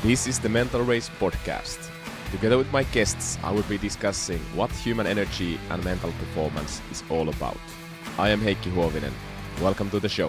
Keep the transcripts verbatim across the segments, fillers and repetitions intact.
This is the Mental Race podcast. Together with my guests, I will be discussing what human energy and mental performance is all about. I am Heikki Huovinen. Welcome to the show.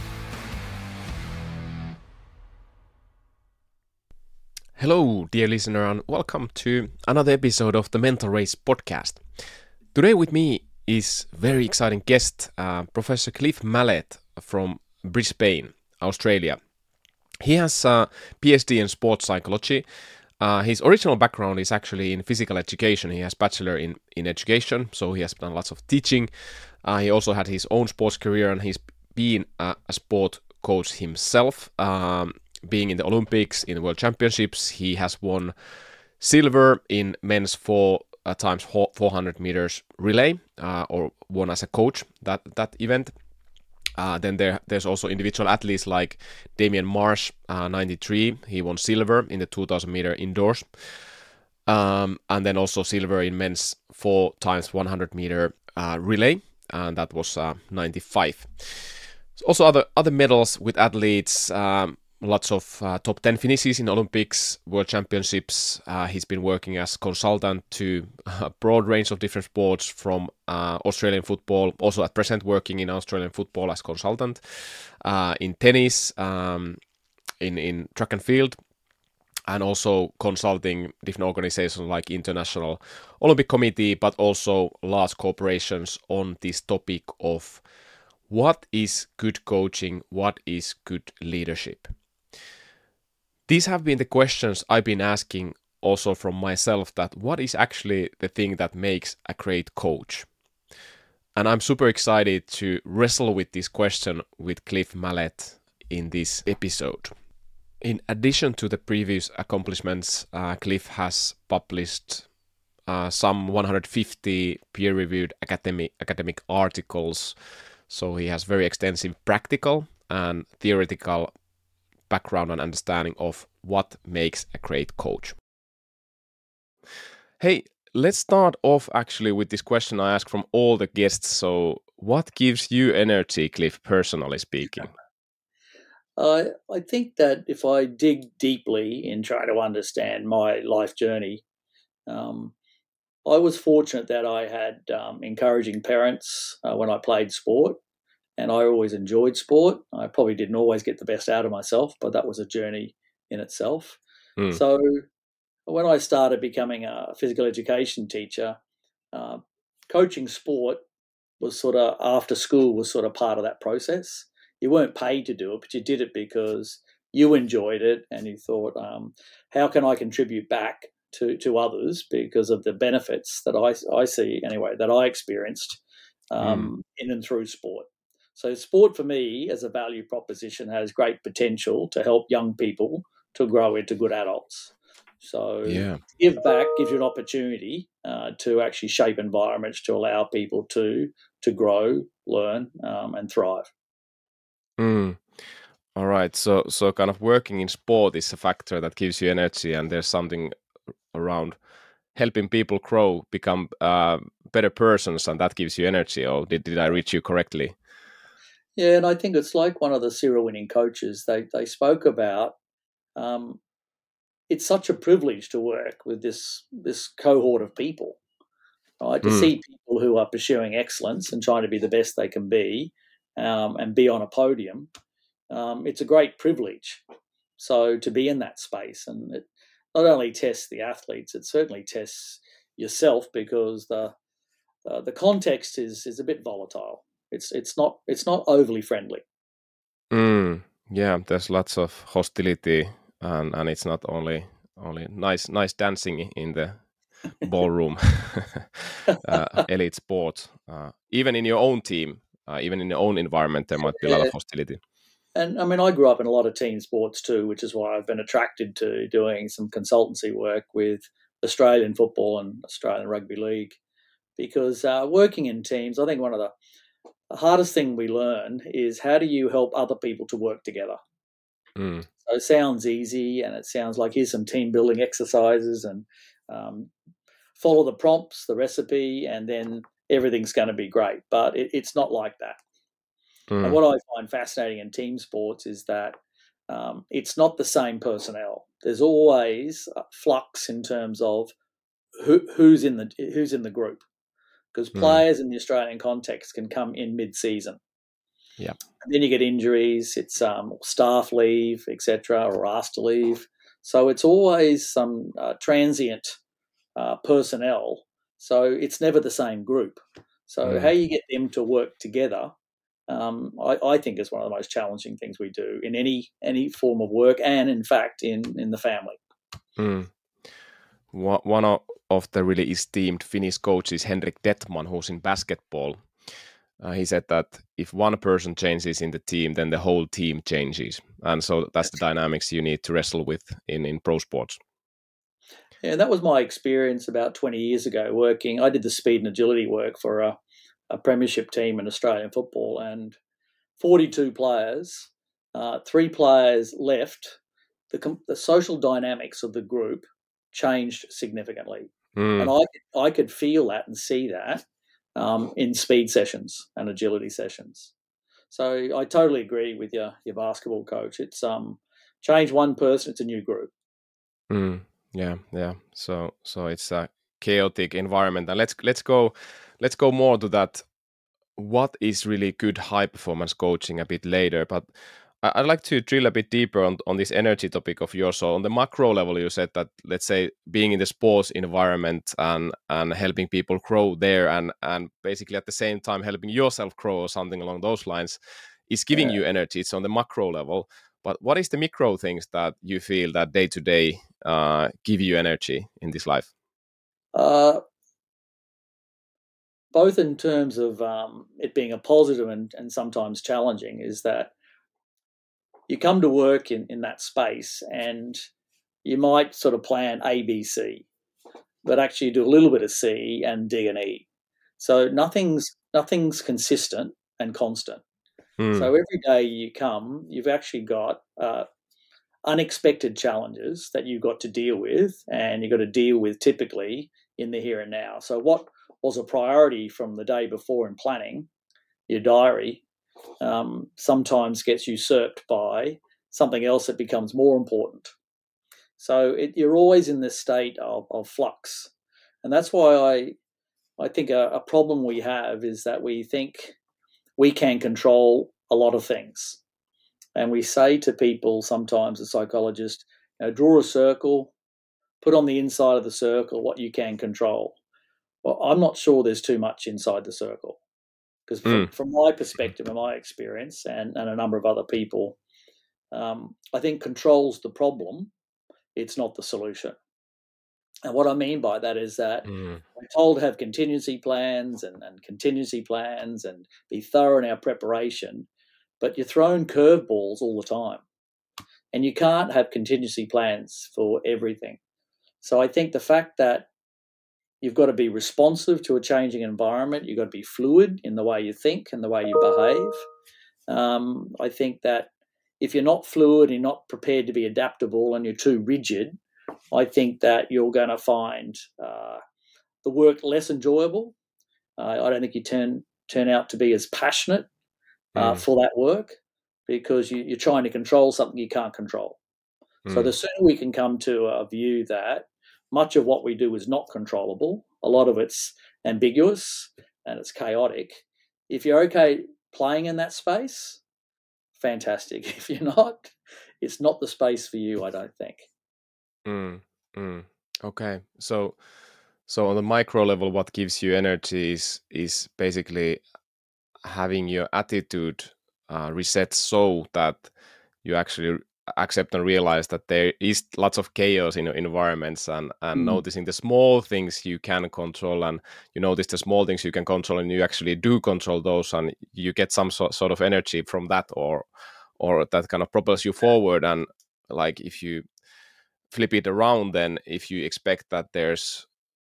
Hello, dear listener, and welcome to another episode of the Mental Race podcast. Today with me is very exciting guest, uh, Professor Cliff Mallett from Brisbane, Australia. He has a PhD in sports psychology. Uh, his original background is actually in physical education. He has bachelor in, in education, so he has done lots of teaching. Uh, he also had his own sports career, and he's been a, a sport coach himself, um, being in the Olympics, in the World Championships. He has won silver in men's four uh, times four hundred meters relay, uh, or won as a coach that, that event. Uh, then there, there's also individual athletes like Damien Marsh, uh, ninety-three. He won silver in the two thousand meter indoors. Um, and then also silver in men's four times one hundred meter uh, relay, and that was uh, ninety-five. Also other other medals with athletes, um, lots of uh, top ten finishes in Olympics, World Championships. Uh, he's been working as consultant to a broad range of different sports from uh, Australian football, also at present working in Australian football as consultant, uh, in tennis, um, in, in track and field, and also consulting different organizations like International Olympic Committee, but also large corporations on this topic of what is good coaching, what is good leadership. These have been the questions I've been asking also from myself, that what is actually the thing that makes a great coach? And I'm super excited to wrestle with this question with Cliff Mallett in this episode. In addition to the previous accomplishments, uh, Cliff has published uh, some one hundred fifty peer-reviewed academic, academic articles. So he has very extensive practical and theoretical background and understanding of what makes a great coach. Hey, let's start off actually with this question I ask from all the guests. So what gives you energy, Cliff, personally speaking? Uh, I think that if I dig deeply in trying to understand my life journey, um, I was fortunate that I had um, encouraging parents uh, when I played sport, and I always enjoyed sport. I probably didn't always get the best out of myself, but that was a journey in itself. Mm. So when I started becoming a physical education teacher, uh, coaching sport was sort of after school was sort of part of that process. You weren't paid to do it, but you did it because you enjoyed it and you thought, um, how can I contribute back to, to others because of the benefits that I, I see anyway, that I experienced um, mm. in and through sport. So sport for me as a value proposition has great potential to help young people to grow into good adults. So yeah. give back gives you an opportunity uh, to actually shape environments to allow people to to grow, learn, um, and thrive. Mm. All right. So so kind of working in sport is a factor that gives you energy, and there's something around helping people grow, become uh, better persons, and that gives you energy. Or did, did I reach you correctly? Yeah, and I think it's like one of the Cyril winning coaches. They they spoke about um, it's such a privilege to work with this this cohort of people, right? To Mm. see people who are pursuing excellence and trying to be the best they can be, um, and be on a podium. Um, it's a great privilege. So to be in that space, and it not only tests the athletes, it certainly tests yourself because the uh, the context is is a bit volatile. It's it's not it's not overly friendly. Mm, yeah, there's lots of hostility, and, and it's not only only nice nice dancing in the ballroom, uh, elite sport. Uh, even in your own team, uh, even in your own environment, there might be a lot of hostility. And I mean, I grew up in a lot of team sports too, which is why I've been attracted to doing some consultancy work with Australian football and Australian rugby league, because uh, working in teams, I think one of the the hardest thing we learn is how do you help other people to work together? Mm. So it sounds easy and it sounds like here's some team building exercises and um, follow the prompts, the recipe, and then everything's going to be great. But it, it's not like that. Mm. And what I find fascinating in team sports is that um, it's not the same personnel. There's always a flux in terms of who, who's in the who's in the group, because Mm. players in the Australian context can come in mid-season. Yeah. And then you get injuries, it's um, staff leave, et cetera, or asked to leave. So it's always some uh, transient uh, personnel. So it's never the same group. So Mm. how you get them to work together, um, I, I think is one of the most challenging things we do in any any form of work, and in fact in in the family. Mm. One of, of the really esteemed Finnish coaches, Henrik Detman, who's in basketball, uh, he said that if one person changes in the team, then the whole team changes. And so that's the dynamics you need to wrestle with in, in pro sports. Yeah, that was my experience about twenty years ago working. I did the speed and agility work for a, a premiership team in Australian football, and forty-two players, uh, three players left. The, the social dynamics of the group changed significantly. Mm. And I, I could feel that and see that um, in speed sessions and agility sessions. So I totally agree with your, your basketball coach. It's um, change one person, it's a new group. Mm. Yeah, yeah. So so it's a chaotic environment. And let's let's go let's go more to that. What is really good high performance coaching a bit later, but I- I'd like to drill a bit deeper on, on this energy topic of yours. So on the macro level, you said that, let's say, being in the sports environment and and helping people grow there, and and basically at the same time helping yourself grow or something along those lines is giving Yeah. you energy. It's on the macro level. But what is the micro things that you feel that day to day uh, give you energy in this life? Uh, both in terms of um, it being a positive and, and sometimes challenging, is that you come to work in, in that space and you might sort of plan A, B, C, but actually do a little bit of C and D and E. So nothing's nothing's consistent and constant. Mm. So every day you come, you've actually got uh, unexpected challenges that you've got to deal with, and you've got to deal with typically in the here and now. So what was a priority from the day before in planning your diary um, sometimes gets usurped by something else that becomes more important. So it, you're always in this state of, of flux, and that's why I I think a, a problem we have is that we think we can control a lot of things. And we say to people sometimes, a psychologist, you know, draw a circle, put on the inside of the circle what you can control. Well, I'm not sure there's too much inside the circle, because from, Mm. from my perspective and my experience, and, and a number of other people, um, I think control's the problem. It's not the solution. And what I mean by that is that Mm. we're told to have contingency plans and, and contingency plans and be thorough in our preparation, but you're thrown curveballs all the time. And you can't have contingency plans for everything. So I think the fact that you've got to be responsive to a changing environment, you've got to be fluid in the way you think and the way you behave. Um, I think that if you're not fluid, you're not prepared to be adaptable, and you're too rigid, I think that you're going to find uh, the work less enjoyable. Uh, I don't think you turn turn out to be as passionate uh, Mm. for that work, because you, you're trying to control something you can't control. So Mm. the sooner we can come to a view that much of what we do is not controllable, a lot of it's ambiguous and it's chaotic. If you're okay playing in that space, fantastic. If you're not, it's not the space for you, I don't think. Mm. Mm. Okay, so so on the micro level, what gives you energy is is basically having your attitude uh, reset so that you actually accept and realize that there is lots of chaos in your environments, and and Mm. noticing the small things you can control, and you notice the small things you can control, and you actually do control those, and you get some so, sort of energy from that, or or that kind of propels you forward. And like if you flip it around, then if you expect that there's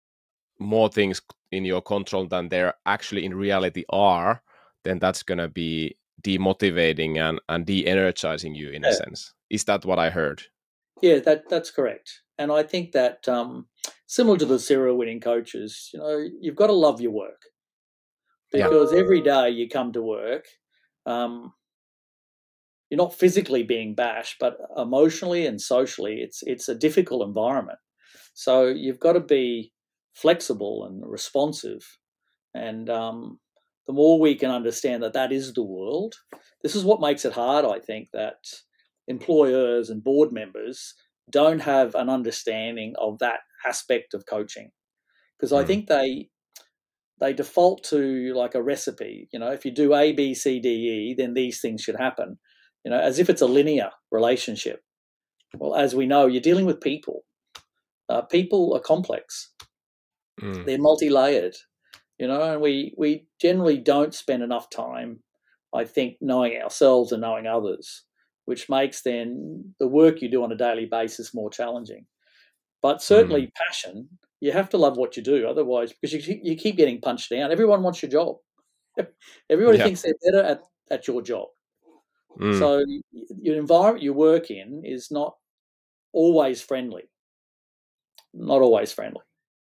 more things in your control than there actually in reality are, then that's going to be demotivating and, and de-energizing you in a Yeah, sense. Is that what I heard? yeah, that that's correct. And I think that um, similar to the serial winning coaches, you know, you've got to love your work, Yeah. because every day you come to work, um, you're not physically being bashed, but emotionally and socially, it's it's a difficult environment. So you've got to be flexible and responsive. And um, the more we can understand that that is the world, this is what makes it hard, I think, that employers and board members don't have an understanding of that aspect of coaching. Because I Mm. think they they default to like a recipe. You know, if you do A, B, C, D, E, then these things should happen. You know, as if it's a linear relationship. Well, as we know, you're dealing with people. Uh, people are complex. Mm. They're multi-layered. You know, and we we generally don't spend enough time, I think, knowing ourselves and knowing others, which makes then the work you do on a daily basis more challenging. But Mm. certainly passion, you have to love what you do, otherwise, because you keep, you keep getting punched down. Everyone wants your job. Everybody Yeah. thinks they're better at, at your job. Mm. So your environment you work in is not always friendly. Not always friendly.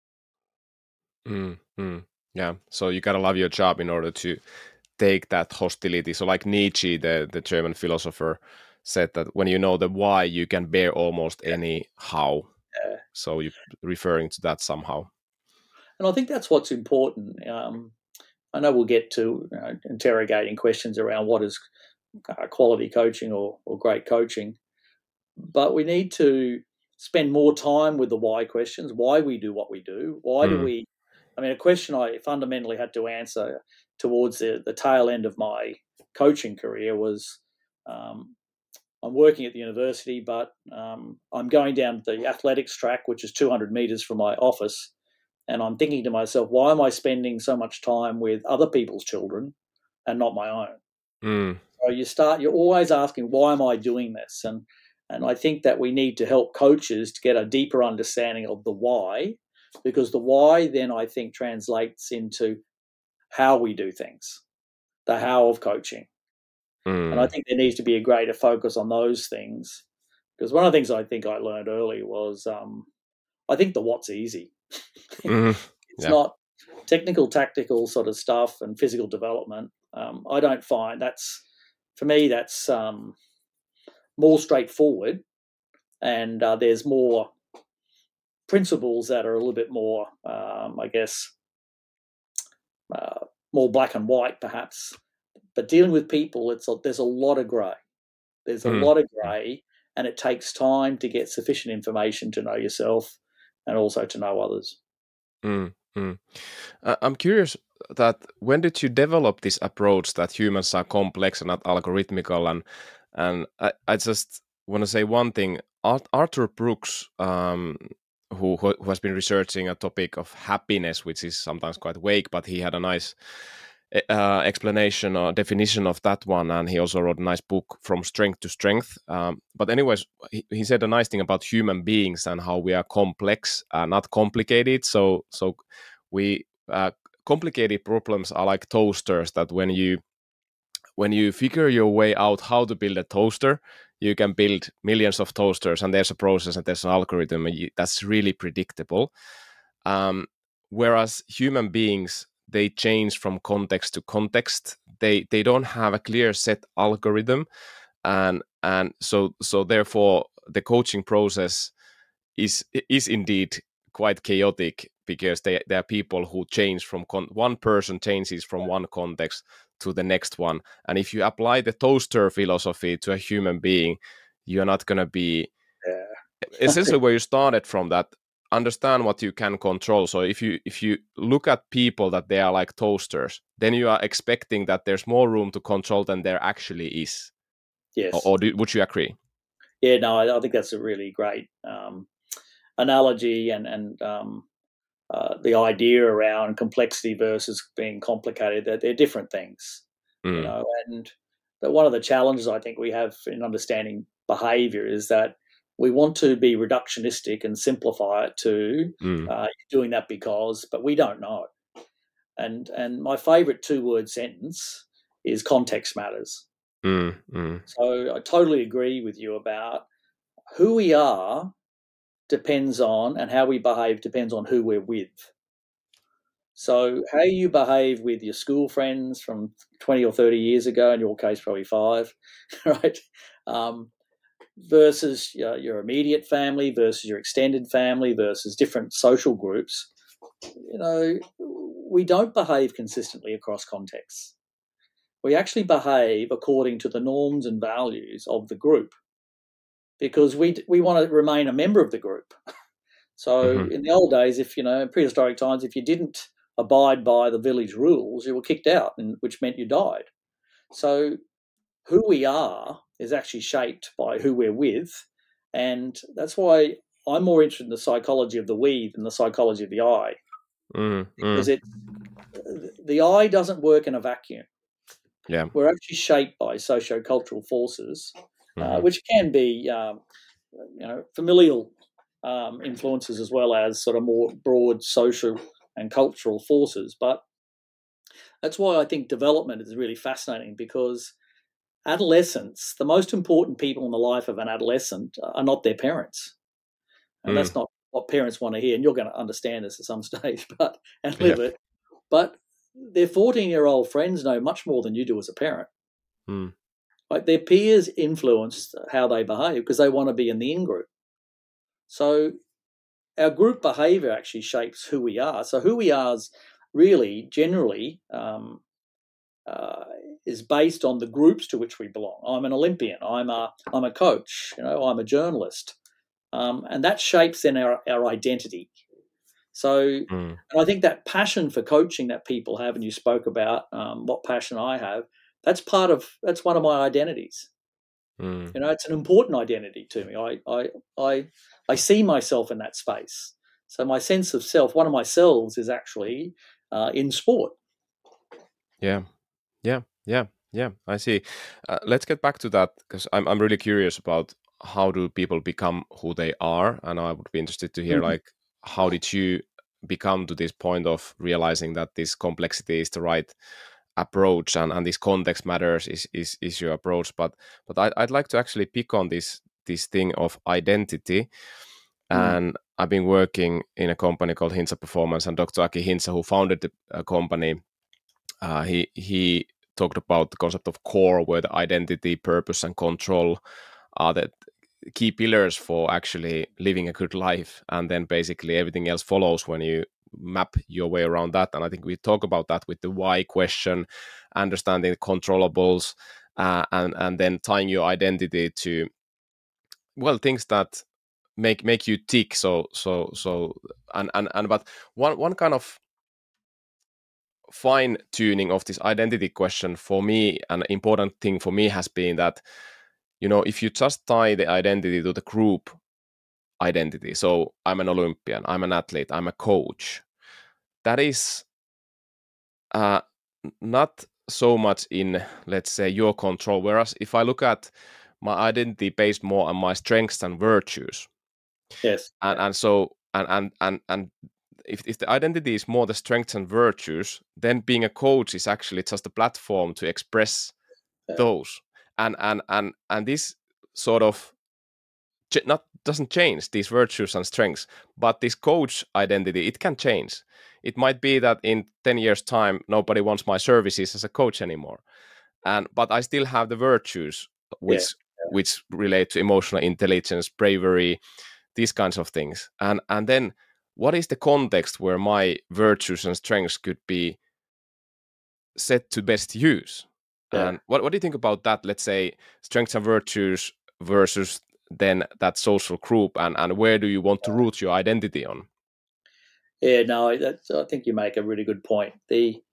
Mm. Mm. Yeah. So you gotta love your job in order to take that hostility. So like Nietzsche, the, the German philosopher, said that when you know the why, you can bear almost Yeah. any how. Yeah. So you referring to that somehow. And I think that's what's important. Um, I know we'll get to you know, interrogating questions around what is uh, quality coaching or, or great coaching, but we need to spend more time with the why questions, why we do what we do, why do Mm. we, I mean, a question I fundamentally had to answer towards the, the tail end of my coaching career was, um, I'm working at the university, but um, I'm going down the athletics track, which is two hundred meters from my office. And I'm thinking to myself, why am I spending so much time with other people's children and not my own? Mm. So you start, you're always asking, why am I doing this? And and I think that we need to help coaches to get a deeper understanding of the why, because the why then I think translates into how we do things, the how of coaching. And I Mm. think there needs to be a greater focus on those things. Because one of the things I think I learned early was um, I think the what's easy. Mm. It's Yeah. not technical, tactical sort of stuff and physical development. Um, I don't find that's, for me, that's um, more straightforward. And uh, there's more principles that are a little bit more, um, I guess, uh, more black and white, perhaps. But dealing with people, it's a, there's a lot of grey. There's a Mm. lot of grey, and it takes time to get sufficient information to know yourself and also to know others. Mm. Mm. Uh, I'm curious that when did you develop this approach that humans are complex and not algorithmical? And and I, I just want to say one thing. Art, Arthur Brooks, um, who who has been researching a topic of happiness, which is sometimes quite vague, but he had a nice uh, explanation or definition of that one, and he also wrote a nice book, From Strength to Strength. Um, but anyways, he, he said a nice thing about human beings and how we are complex, uh, not complicated. So so we uh, complicated problems are like toasters that when you when you figure your way out how to build a toaster, you can build millions of toasters, and there's a process and there's an algorithm, and you, that's really predictable. Um, whereas human beings, they change from context to context. They they don't have a clear set algorithm, and and so so therefore the coaching process is is indeed quite chaotic, because they, there are people who change from con- one person changes from one context to the next one, and if you apply the toaster philosophy to a human being, you're not going to be Yeah. essentially where you started from. That understand what you can control. So if you if you look at people that they are like toasters, then you are expecting that there's more room to control than there actually is. Or, Yes. or do, would you agree? Yeah, no, I, I think that's a really great um, analogy, and, and um, uh, the idea around complexity versus being complicated, that they're different things, you Mm, know. And that one of the challenges I think we have in understanding behavior is that we want to be reductionistic and simplify it to mm, uh, doing that because, but we don't know. And and my favorite two word sentence is context matters. mm, mm, So I totally agree with you about who we are depends on, and how we behave depends on who we're with. So how you behave with your school friends from twenty or thirty years ago, in your case, probably five, right? Um, versus uh, your immediate family versus your extended family versus different social groups, you know, we don't behave consistently across contexts. We actually behave according to the norms and values of the group because we we want to remain a member of the group. So Mm-hmm. in the old days, if you know, in prehistoric times, if you didn't abide by the village rules, you were kicked out, and which meant you died. So who we are is actually shaped by who we're with, and that's why I'm more interested in the psychology of the we than the psychology of the I, Mm-hmm. because it the I doesn't work in a vacuum. Yeah. We're actually shaped by socio-cultural forces, uh, Mm-hmm. which can be um, you know familial um, influences as well as sort of more broad social and cultural forces. But that's why I think development is really fascinating, because adolescents, the most important people in the life of an adolescent are not their parents. And Mm. that's not what parents want to hear. And you're going to understand this at some stage, but and Yeah. live it. But their fourteen year old friends know much more than you do as a parent. Mm. Like their peers influence how they behave because they want to be in the in group. So our group behavior actually shapes who we are. So who we are is really generally um, uh, is based on the groups to which we belong. I'm an Olympian. I'm a I'm a coach. You know, I'm a journalist, um, and that shapes then our our identity. So, Mm. and I think that passion for coaching that people have, and you spoke about um, what passion I have. That's part of that's one of my identities. Mm. You know, it's an important identity to me. I I I I see myself in that space. So my sense of self, one of my selves, is actually uh, in sport. Yeah. Yeah. Yeah. Yeah. I see. Uh, let's get back to that because I'm I'm really curious about how do people become who they are, and I would be interested to hear Mhm. like how did you become to this point of realizing that this complexity is the right approach and, and this context matters is, is is your approach. But but I, I'd like to actually pick on this this thing of identity. Mm. And I've been working in a company called Hintsa Performance, and doctor Aki Hintsa, who founded the uh, company, uh, he he talked about the concept of core, where the identity, purpose, and control are the key pillars for actually living a good life, and then basically everything else follows when you map your way around that. And I think we talk about that with the why question, understanding the controllables, uh, and and then tying your identity to, well, things that make make you tick. So so so and and, and but one one kind of fine tuning of this identity question for me, an important thing for me has been that, you know, if you just tie the identity to the group identity, so I'm an Olympian, I'm an athlete, I'm a coach, that is uh, not so much in, let's say, your control. Whereas if I look at my identity based more on my strengths and virtues, Yes. and Yeah. and so and and and and if, if the identity is more the strengths and virtues, then being a coach is actually just a platform to express Yeah. those. And and and and this sort of ch- not doesn't change these virtues and strengths, but this coach identity, it can change. It might be that in ten years time nobody wants my services as a coach anymore, and but I still have the virtues Yeah. which which relate to emotional intelligence, bravery, these kinds of things. And and then what is the context where my virtues and strengths could be set to best use? Yeah. And what, what do you think about that? Let's say strengths and virtues versus then that social group, and, and where do you want to root your identity on? Yeah. No, that's, I think you make a really good point. The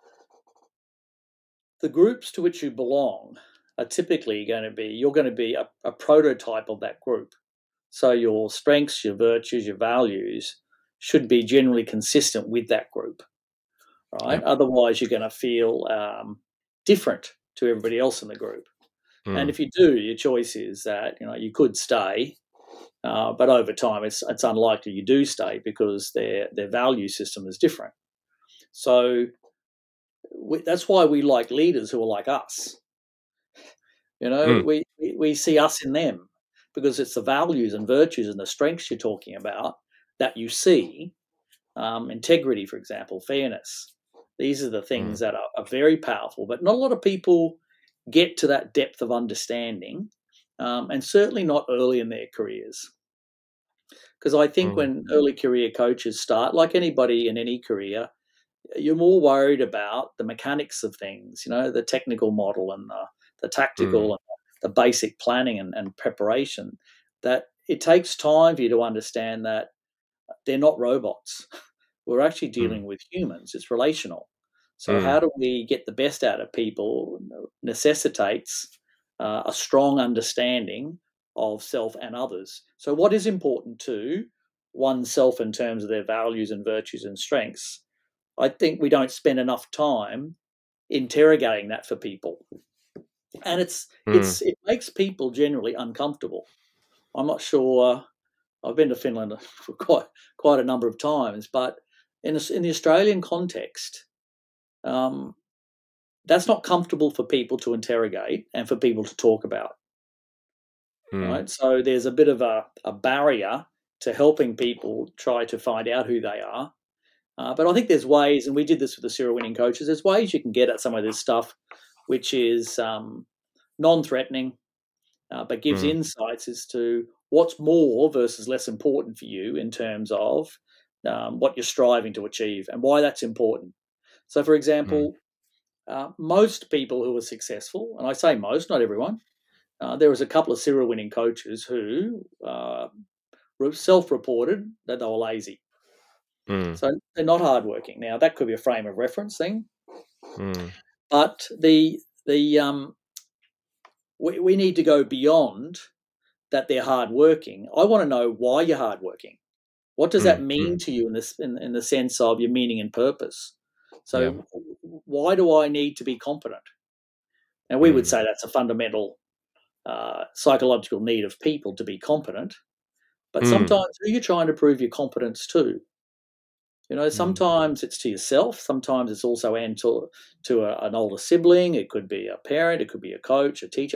the groups to which you belong are typically going to be you're going to be a, a prototype of that group. So your strengths, your virtues, your values should be generally consistent with that group, Yeah. right? Otherwise, you're going to feel um, different to everybody else in the group. And Mm, if you do, your choice is that you know you could stay, uh, but over time, it's it's unlikely you do stay because their their value system is different. So we, that's why we like leaders who are like us. You know, mm, we, we we see us in them because it's the values and virtues and the strengths you're talking about that you see, um, integrity, for example, fairness. These are the things Mm. that are, are very powerful, but not a lot of people get to that depth of understanding, um, and certainly not early in their careers. Because I think Mm. when early career coaches start, like anybody in any career, you're more worried about the mechanics of things, you know, the technical model and the, the tactical Mm. and the basic planning and, and preparation, that it takes time for you to understand that they're not robots. We're actually Mm. dealing with humans. It's relational. So Mm. how do we get the best out of people necessitates uh, a strong understanding of self and others. So what is important to oneself in terms of their values and virtues and strengths, I think we don't spend enough time interrogating that for people. And it's Mm. it's it makes people generally uncomfortable. I'm not sure. I've been to Finland for quite quite a number of times, but in a, in the Australian context, um, that's not comfortable for people to interrogate and for people to talk about. Mm. Right, so there's a bit of a, a barrier to helping people try to find out who they are. Uh, but I think there's ways, and we did this with the serial winning coaches. There's ways you can get at some of this stuff, which is um, non-threatening, uh, but gives Mm. insights as to what's more versus less important for you in terms of um, what you're striving to achieve and why that's important. So, for Mm. example, uh, most people who are successful, and I say most, not everyone, uh, there was a couple of serial winning coaches who uh, self-reported that they were lazy. Mm. So they're not hardworking. Now that could be a frame of reference thing, Mm. but the the um, we, we need to go beyond that they're hardworking. I want to know why you're hardworking. What does that Mm. Mm. mean to you in this in, in the sense of your meaning and purpose? Yeah. So why do I need to be competent? And we would Mm. say that's a fundamental uh, psychological need of people to be competent. But Mm. sometimes who are you trying to prove your competence to? You know, Mm. sometimes it's to yourself. Sometimes it's also and to, to a, an older sibling. It could be a parent. It could be a coach, a teacher.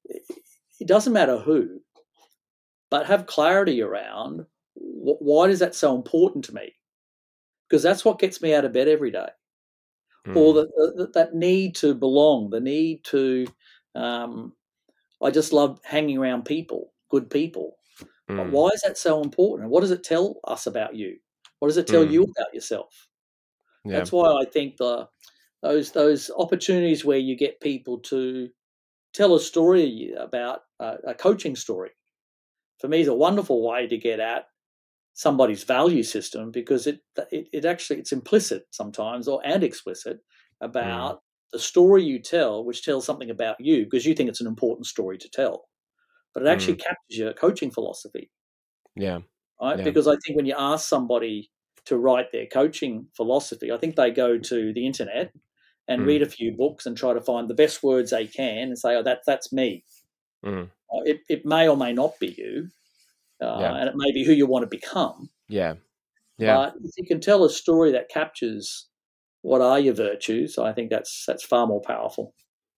It doesn't matter who, but have clarity around wh- why is that so important to me? Because that's what gets me out of bed every day. Or Mm. that that, that need to belong, the need to. Um, I just love hanging around people, good people. Mm. Why is that so important? What does it tell us about you? What does it tell Mm. you about yourself? Yeah. That's why I think the those those opportunities where you get people to tell a story about a, a coaching story, for me, is a wonderful way to get at somebody's value system, because it, it it actually it's implicit sometimes or and explicit Mm. about the story you tell, which tells something about you because you think it's an important story to tell, but it actually Mm. captures your coaching philosophy, Yeah. right? Yeah. Because I think when you ask somebody to write their coaching philosophy, I think they go to the internet and Mm. read a few books and try to find the best words they can and say, "Oh, that that's me." Mm. Uh, It it may or may not be you, uh, Yeah. and it may be who you want to become. Yeah. Yeah. But if you can tell a story that captures what are your virtues, I think that's that's far more powerful.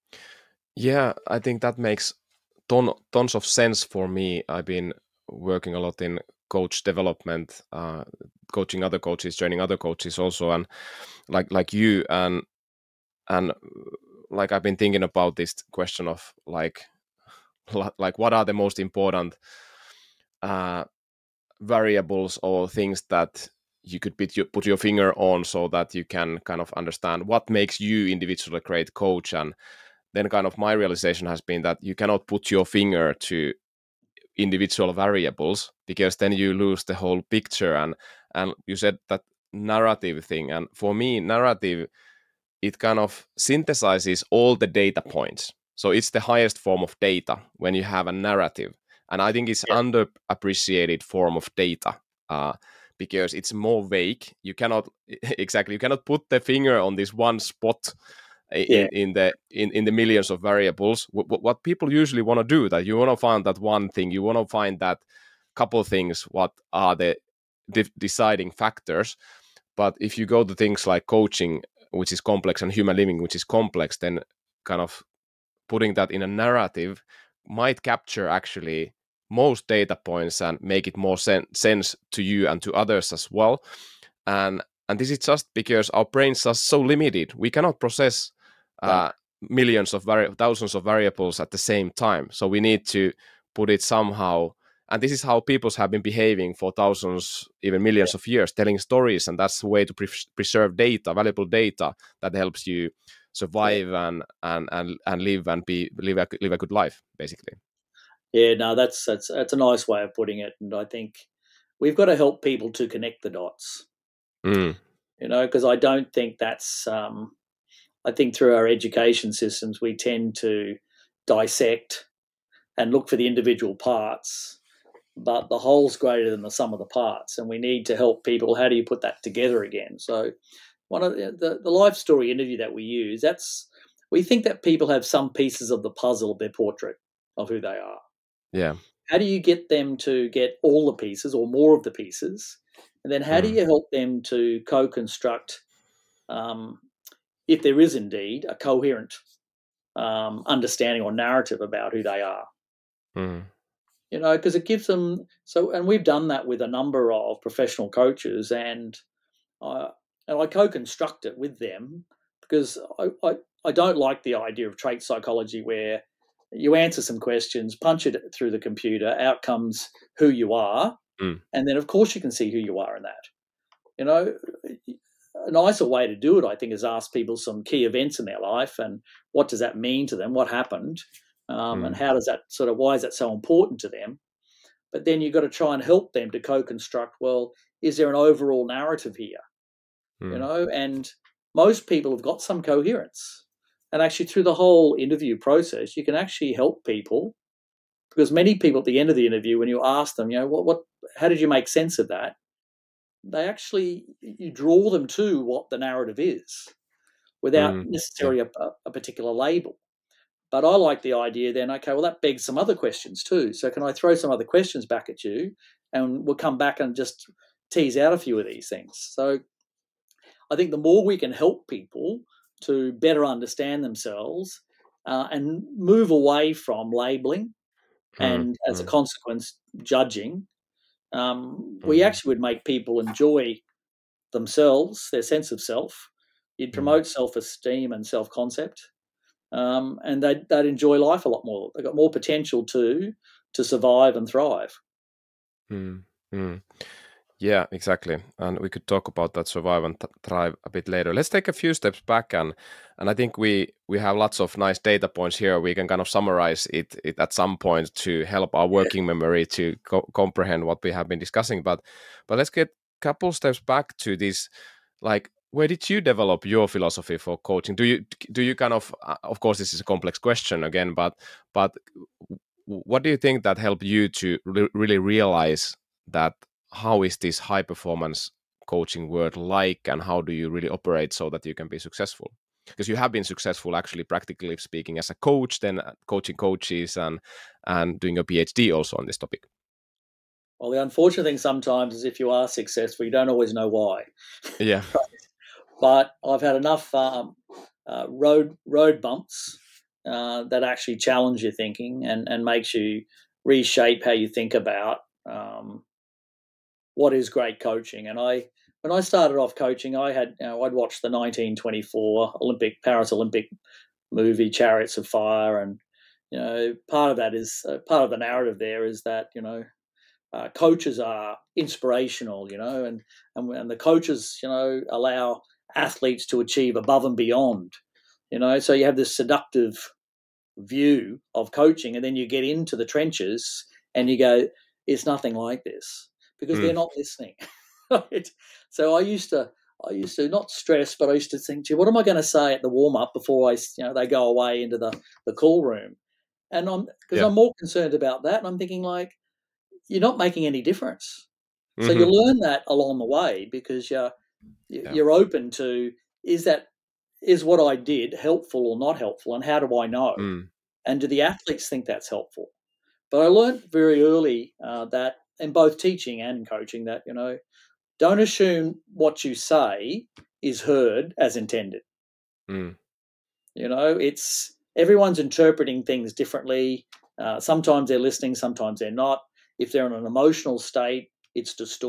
Yeah. I think that makes ton tons of sense for me. I've been working a lot in coach development, uh, coaching other coaches, training other coaches also, and like like you and and uh, like I've been thinking about this question of like li- like what are the most important uh, variables or things that you could put your, put your finger on so that you can kind of understand what makes you individually a great coach. And then kind of my realization has been that you cannot put your finger to individual variables because then you lose the whole picture. and and you said that narrative thing, and for me narrative, it kind of synthesizes all the data points. So it's the highest form of data when you have a narrative. And I think it's Yeah, underappreciated form of data, uh, because it's more vague. You cannot exactly, you cannot put the finger on this one spot yeah, in, in the in, in the millions of variables. What, what people usually want to do, that you want to find that one thing, you want to find that couple things, what are the de- deciding factors. But if you go to things like coaching, which is complex, and human living, which is complex, then kind of putting that in a narrative might capture actually most data points and make it more sen- sense to you and to others as well. and and this is just because our brains are so limited. We cannot process No. uh, millions of vari- thousands of variables at the same time. So we need to put it somehow. And this is how peoples have been behaving for thousands, even millions Yeah. of years, telling stories. And that's the way to pre- preserve data, valuable data that helps you survive Yeah. and and and, and live and be live a, live a good life, basically. Yeah. No, that's that's that's a nice way of putting it, and I think we've got to help people to connect the dots. Mm, You know, because I don't think that's. Um, I think through our education systems, we tend to dissect and look for the individual parts, but the whole's greater than the sum of the parts, and we need to help people. How do you put that together again? So, one of the, the, the life story interview that we use, that's we think that people have some pieces of the puzzle of their portrait of who they are. yeah. How do you get them to get all the pieces or more of the pieces? And then how do Mm, you help them to co-construct, um, if there is indeed a coherent um, understanding or narrative about who they are? mm, You know, because it gives them so, and we've done that with a number of professional coaches, and I and I co-construct it with them because I, I I don't like the idea of trait psychology where you answer some questions, punch it through the computer, out comes who you are, mm, and then of course you can see who you are in that. You know, a nicer way to do it, I think, is ask people some key events in their life and what does that mean to them, what happened, um, and mm, how does that sort of why is that so important to them? But then you've got to try and help them to co-construct. Well, is there an overall narrative here? You mm, know, and most people have got some coherence. And actually, through the whole interview process, you can actually help people because many people at the end of the interview, when you ask them, you know, what, what, how did you make sense of that? They actually, you draw them to what the narrative is without mm, yeah. necessarily a, a particular label. But I like the idea then, okay, well, that begs some other questions too. So can I throw some other questions back at you and we'll come back and just tease out a few of these things. So I think the more we can help people to better understand themselves uh, and move away from labeling Mm, and as a mm, consequence, judging, um, we mm, actually would make people enjoy themselves, their sense of self. You'd mm, promote self esteem and self concept. Um, and they'd, they'd enjoy life a lot more. They've got more potential to to survive and thrive. mm, mm. Yeah, exactly. And we could talk about that survive and th- thrive a bit later. Let's take a few steps back, and and I think we we have lots of nice data points here. We can kind of summarize it, it at some point to help our Yeah. working memory to co- comprehend what we have been discussing. But but let's get a couple steps back to this. Like, where did you develop your philosophy for coaching? Do you do you kind of uh, of course this is a complex question again, but but w- what do you think that helped you to re- really realize that how is this high performance coaching world like, and how do you really operate so that you can be successful? Because you have been successful, actually, practically speaking, as a coach, then uh, coaching coaches and and doing a PhD also on this topic. Well, the unfortunate thing sometimes is if you are successful, you don't always know why. Yeah. But I've had enough um, uh, road road bumps uh, that actually challenge your thinking and and makes you reshape how you think about um, what is great coaching. And I, when I started off coaching, I had, you know, I'd watched the nineteen twenty-four Olympic Paris Olympic movie Chariots of Fire, and you know, part of that is uh, part of the narrative there is that you know uh, coaches are inspirational, you know, and, and and the coaches, you know, allow athletes to achieve above and beyond, you know. So you have this seductive view of coaching, and then you get into the trenches and you go, it's nothing like this because Mm, they're not listening. Right? So I used to, I used to not stress, but I used to think, gee, what am I going to say at the warm up before I, you know, they go away into the the call room, and I'm because yeah. I'm more concerned about that, and I'm thinking like, you're not making any difference. So you Hmm. learn that along the way because you're Yeah. you're open to is that is what I did helpful or not helpful, and how do I know? Mm, And do the athletes think that's helpful? But I learned very early uh, that in both teaching and coaching that, you know, don't assume what you say is heard as intended. mm, You know, it's everyone's interpreting things differently. Uh, sometimes they're listening, sometimes they're not. If they're in an emotional state, it's distorted.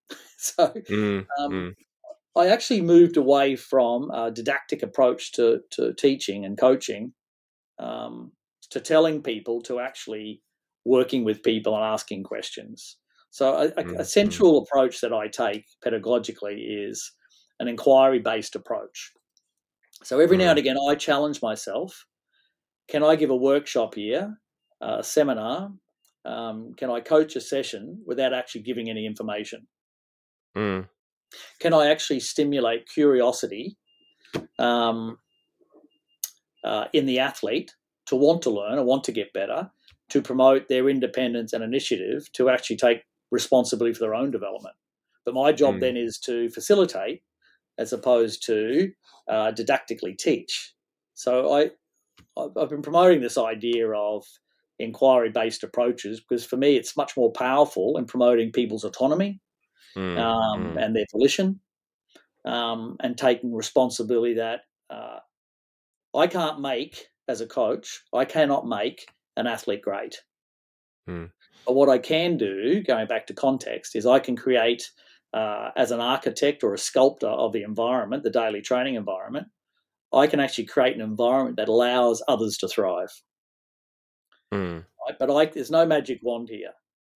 So mm, um, mm, I actually moved away from a didactic approach to, to teaching and coaching um, to telling people to actually working with people and asking questions. So a, a, a mm, mm, central approach that I take pedagogically is an inquiry-based approach. So every now and mm, again, I challenge myself. Can I give a workshop here, a seminar? Um, can I coach a session without actually giving any information? mm, Can I actually stimulate curiosity um, uh, in the athlete to want to learn or want to get better, to promote their independence and initiative to actually take responsibility for their own development? But my job mm, then is to facilitate as opposed to uh, didactically teach. So I, I've been promoting this idea of inquiry-based approaches because for me it's much more powerful in promoting people's autonomy mm, um, mm, and their volition um, and taking responsibility that uh, I can't make as a coach, I cannot make an athlete great. mm, But what I can do, going back to context, is I can create, uh, as an architect or a sculptor of the environment, the daily training environment, I can actually create an environment that allows others to thrive. mm. Right? But I, there's no magic wand here.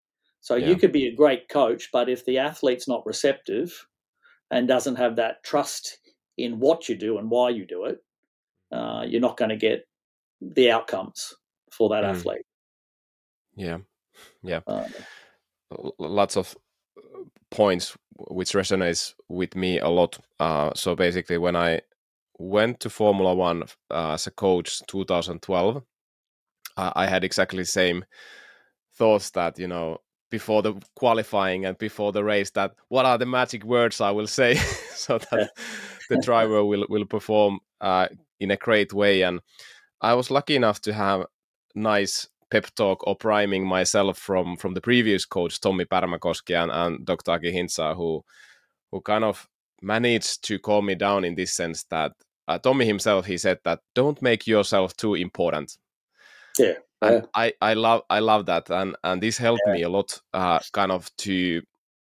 So you Yeah. could be a great coach, but if the athlete's not receptive and doesn't have that trust in what you do and why you do it, uh, you're not going to get the outcomes for that Mm, athlete. yeah. Yeah. Uh, L- lots of points which resonates with me a lot. Uh, so basically, when I went to Formula One uh, as a coach two thousand twelve, uh, I had exactly the same thoughts that, you know, before the qualifying and before the race, that what are the magic words I will say so that the driver will, will perform uh, in a great way. And I was lucky enough to have nice pep talk or priming myself from from the previous coach, Tommi Pärmäkoski and, and Doctor Aki Hintsa, who who kind of managed to calm me down in this sense that uh, Tommy himself, he said that don't make yourself too important. yeah, And yeah, I, I love I love that, and and this helped me a lot, uh, kind of to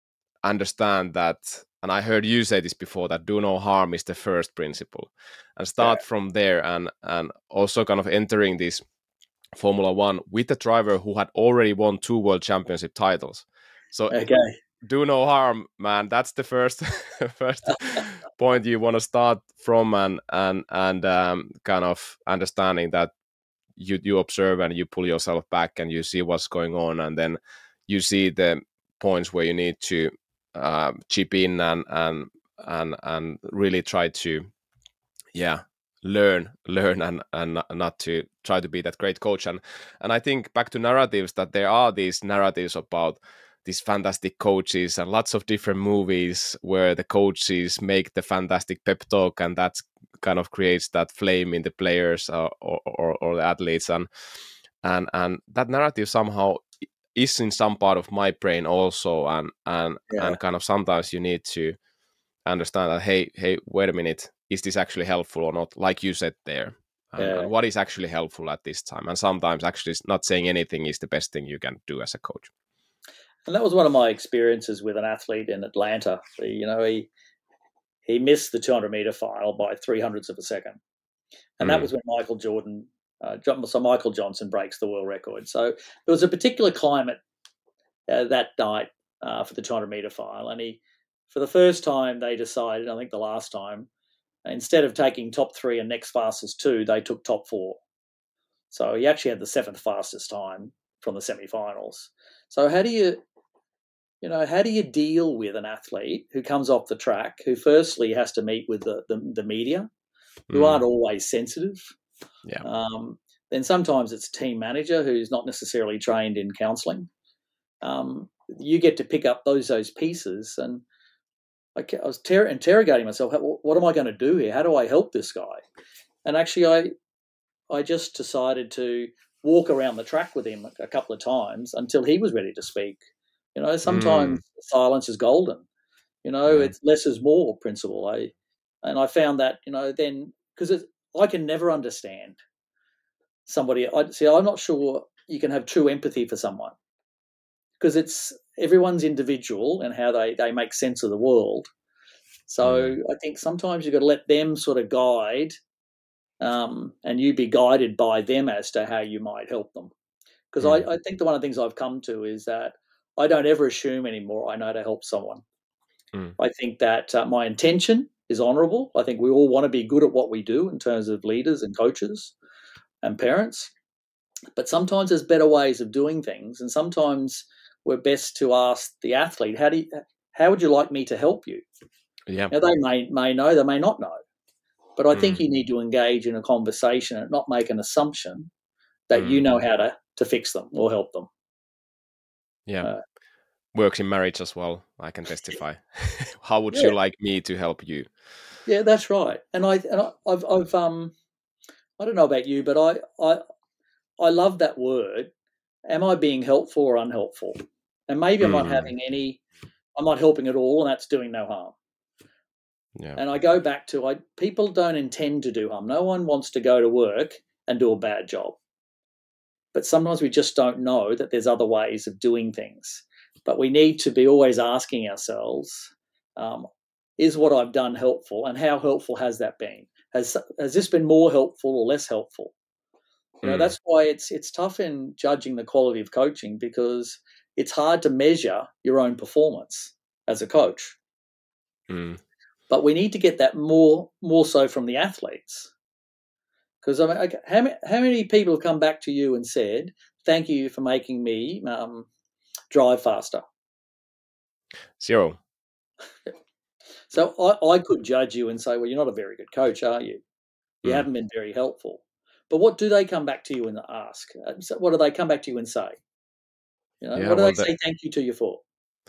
understand that. And I heard you say this before, that do no harm is the first principle, and yeah. start from there. And and also kind of entering this Formula One with a driver who had already won two world championship titles. So Okay. do no harm, man. That's the first first point you want to start from, and and and um, kind of understanding that you you observe and you pull yourself back and you see what's going on, and then you see the points where you need to uh, chip in and and and and really try to, yeah, learn learn and and not to try to be that great coach. and and I think back to narratives, that there are these narratives about these fantastic coaches and lots of different movies where the coaches make the fantastic pep talk, and that kind of creates that flame in the players, uh, or, or or the athletes. and and and that narrative somehow is in some part of my brain also. and and Yeah, and kind of sometimes you need to understand that, hey hey wait a minute, is this actually helpful or not, like you said there, and, yeah. and what is actually helpful at this time. And sometimes actually not saying anything is the best thing you can do as a coach. And that was one of my experiences with an athlete in Atlanta. You know, he he missed the two hundred meter final by three hundredths of a second, and that Mm, was when Michael Jordan, uh, so Michael Johnson breaks the world record. So there was a particular climate uh, that night uh, for the two hundred meter final, and he, for the first time, they decided. I think the last time, instead of taking top three and next fastest two, they took top four. So he actually had the seventh fastest time from the semi-finals. So how do you, you know, how do you deal with an athlete who comes off the track, who firstly has to meet with the the, the media, who mm, aren't always sensitive? yeah. Um, then sometimes it's team manager who's not necessarily trained in counselling. Um, you get to pick up those those pieces, and I, I was ter- interrogating myself. What am I going to do here? How do I help this guy? And actually, I I just decided to walk around the track with him a couple of times until he was ready to speak. You know, Mm, sometimes silence is golden. You know, yeah. it's less is more principle. I and I found that, you know, then because I can never understand somebody. I see. I'm not sure you can have true empathy for someone because it's everyone's individual and how they, they make sense of the world. So mm. I think sometimes you've got to let them sort of guide, um, and you be guided by them as to how you might help them. Because mm. I, I think the one of the things I've come to is that I don't ever assume anymore I know how to help someone. Mm. I think that uh, my intention is honourable. I think we all want to be good at what we do in terms of leaders and coaches and parents. But sometimes there's better ways of doing things, and sometimes we're best to ask the athlete, "How do you, how would you like me to help you?" Yeah. Now they may may know, they may not know, but I mm. think you need to engage in a conversation and not make an assumption that mm. you know how to to fix them or help them. Yeah, uh, works in marriage as well. I can testify. How would yeah. you like me to help you? Yeah, that's right. And I and I, I've I've um I don't know about you, but I I. I love that word. Am I being helpful or unhelpful? And maybe I'm mm. not having any, I'm not helping at all, and that's doing no harm. Yeah. And I go back to, I, people don't intend to do harm. No one wants to go to work and do a bad job. But sometimes we just don't know that there's other ways of doing things. But we need to be always asking ourselves, um, is what I've done helpful, and how helpful has that been? Has, has this been more helpful or less helpful? You know, mm. that's why it's it's tough in judging the quality of coaching, because it's hard to measure your own performance as a coach. Mm. But we need to get that more more so from the athletes. Because I mean, okay, how many how many people have come back to you and said, "Thank you for making me um, drive faster"? Zero. So I, I could judge you and say, "Well, you're not a very good coach, are you? You mm. haven't been very helpful." But what do they come back to you and ask? So what do they come back to you and say? You know, yeah, what do well, they say that, thank you to you for?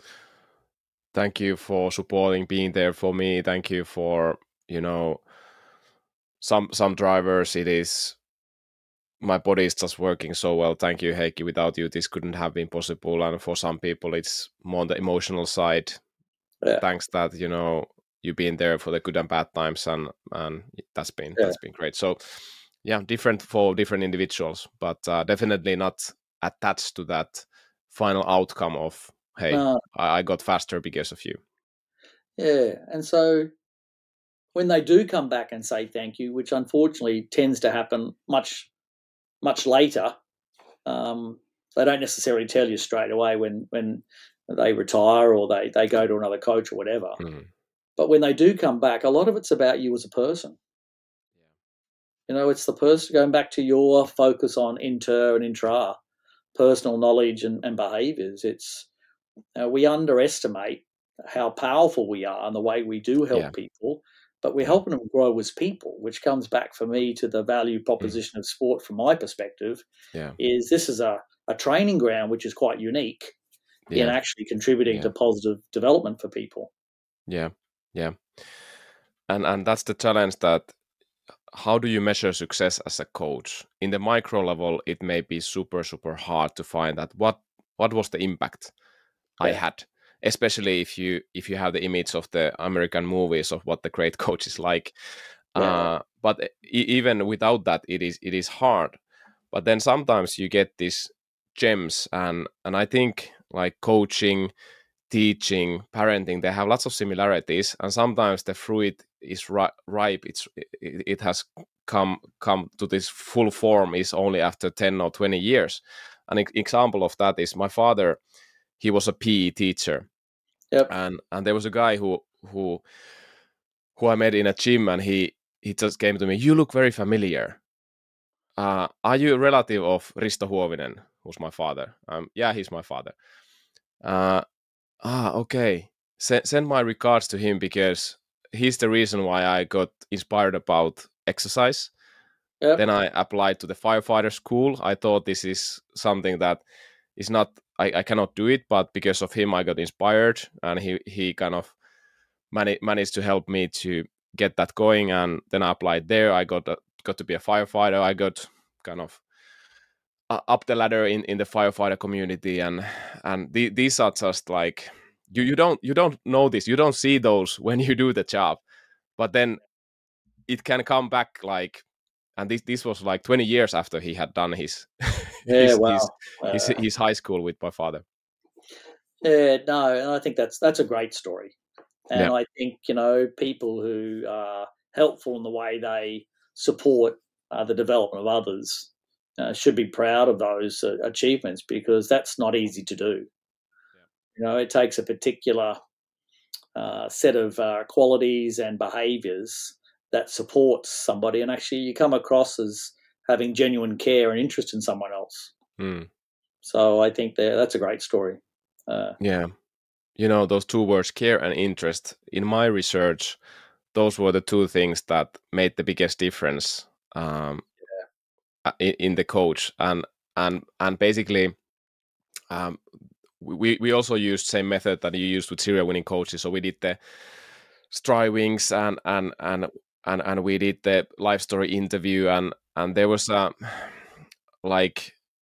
Thank you for supporting, being there for me. Thank you for, you know, some some drivers, it is, my body is just working so well. Thank you, Heikki. Without you, this couldn't have been possible. And for some people, it's more on the emotional side. Yeah. Thanks that, you know, you've been there for the good and bad times, and and that's been yeah. that's been great. So yeah, different for different individuals, but uh, definitely not attached to that final outcome of, hey, uh, I, I got faster because of you. Yeah, and so when they do come back and say thank you, which unfortunately tends to happen much, much later, um, they don't necessarily tell you straight away when when they retire or they, they go to another coach or whatever. Mm. But when they do come back, a lot of it's about you as a person. You know, it's the person going back to your focus on inter and intra, personal knowledge and, and behaviours. It's uh, we underestimate how powerful we are and the way we do help yeah. people, but we're yeah. helping them grow as people, which comes back for me to the value proposition mm. of sport from my perspective. Yeah. Is this is a, a training ground which is quite unique yeah. in actually contributing yeah. to positive development for people. Yeah, yeah. And and that's the challenge, that how do you measure success as a coach? In the micro level, it may be super, super hard to find that what what was the impact yeah. I had, especially if you if you have the image of the American movies of what the great coach is like. Yeah. Uh, but e- even without that, it is it is hard. But then sometimes you get these gems, and and I think like coaching, teaching, parenting, they have lots of similarities, and sometimes the fruit is ri- ripe. It's it, it has come come to this full form is only after ten or twenty years. An e- example of that is my father. He was a P E teacher, yep. and and there was a guy who who who I met in a gym, and he he just came to me. You look very familiar. Uh, are you a relative of Risto Huovinen, who's my father? Um, yeah, he's my father. Uh, ah, okay. S- send my regards to him, because he's the reason why I got inspired about exercise. Yep. Then I applied to the firefighter school. I thought this is something that is not, I, I cannot do it, but because of him, I got inspired, and he, he kind of mani- managed to help me to get that going. And then I applied there. I got a, got to be a firefighter. I got kind of uh, up the ladder in, in the firefighter community, and and the, these are just like, you you don't you don't know this, you don't see those when you do the job, but then it can come back, like, and this this was like twenty years after he had done his yeah, his, wow. his, uh, his his his high school with my father. Yeah, no, and I think that's that's a great story. And Yeah. I think, you know, people who are helpful in the way they support uh, the development of others uh, should be proud of those uh, achievements, because that's not easy to do. Yeah. You know, it takes a particular uh, set of uh, qualities and behaviors that supports somebody, and actually you come across as having genuine care and interest in someone else. Mm. So I think that that's a great story. Uh, Yeah. You know, those two words, care and interest, in my research, those were the two things that made the biggest difference um, uh, in, in the coach. And and and basically, um, we we also used same method that you used with serial winning coaches. So we did the strivings and and and and and we did the life story interview, and and there was a like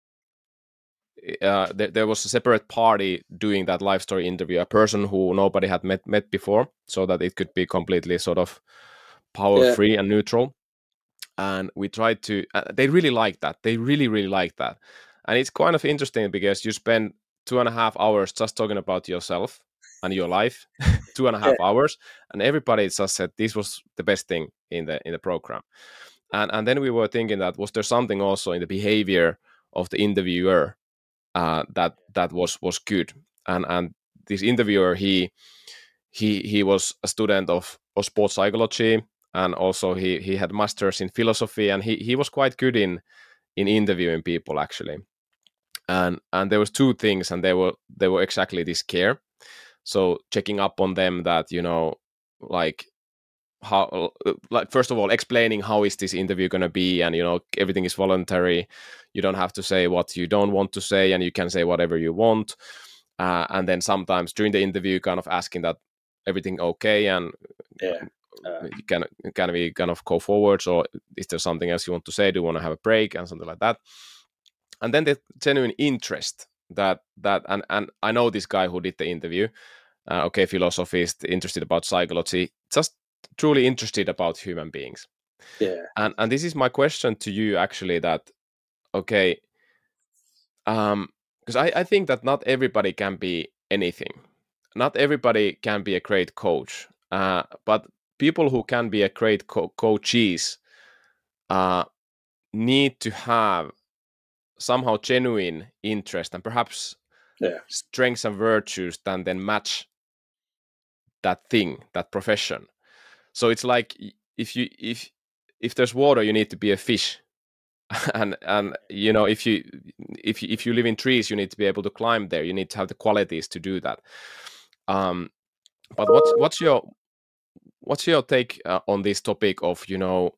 uh, there, there was a separate party doing that life story interview, a person who nobody had met met before, so that it could be completely sort of power yeah, free and neutral. And we tried to uh, they really liked that, they really really liked that. And it's kind of interesting because you spend two and a half hours just talking about yourself and your life, two and a yeah, half hours, and everybody just said this was the best thing in the in the program. And and then we were thinking that was there something also in the behavior of the interviewer uh, that that was was good. And and this interviewer, he he he was a student of, of sports psychology, and also he he had masters in philosophy, and he he was quite good in in interviewing people actually. And and there was two things, and they were they were exactly this care. So checking up on them, that you know like how like first of all explaining how is this interview going to be, and you know everything is voluntary, you don't have to say what you don't want to say, and you can say whatever you want. Uh, and then sometimes during the interview kind of asking that everything okay, and yeah. Uh, you can can we kind of go forwards, or is there something else you want to say, do you want to have a break and something like that. And then the genuine interest, that that and and I know this guy who did the interview, uh, okay, philosophist, interested about psychology, just truly interested about human beings. yeah, And and this is my question to you actually, that okay, um because I, I think that not everybody can be anything, not everybody can be a great coach, uh, but people who can be a great co- coaches uh, need to have somehow genuine interest and perhaps yeah, strengths and virtues that then match that thing, that profession. So it's like y- if you if if there's water, you need to be a fish. and and you know if you if you, if you live in trees, you need to be able to climb there, you need to have the qualities to do that. um but what's what's your what's your take uh, on this topic of you know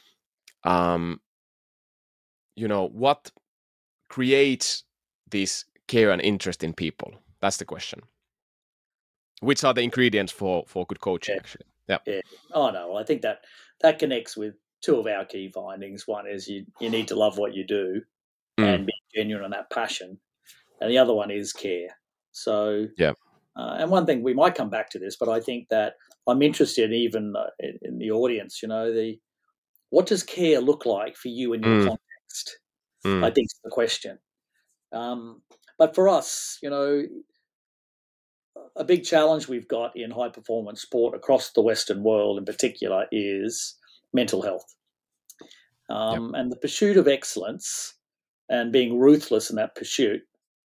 um you know what creates this care and interest in people? That's the question. Which are the ingredients for for good coaching yeah, actually? Yeah. yeah. Oh no, well, I think that that connects with two of our key findings. One is you you need to love what you do Mm, and be genuine on that passion, and the other one is care. So, yeah. uh, and one thing we might come back to this, but I think that I'm interested even uh, in, in the audience. You know, the what does care look like for you in your Mm, context? I mm, think is the question. Um, but for us, you know, a big challenge we've got in high performance sport across the Western world in particular is mental health. yeah. Um, and the pursuit of excellence and being ruthless in that pursuit,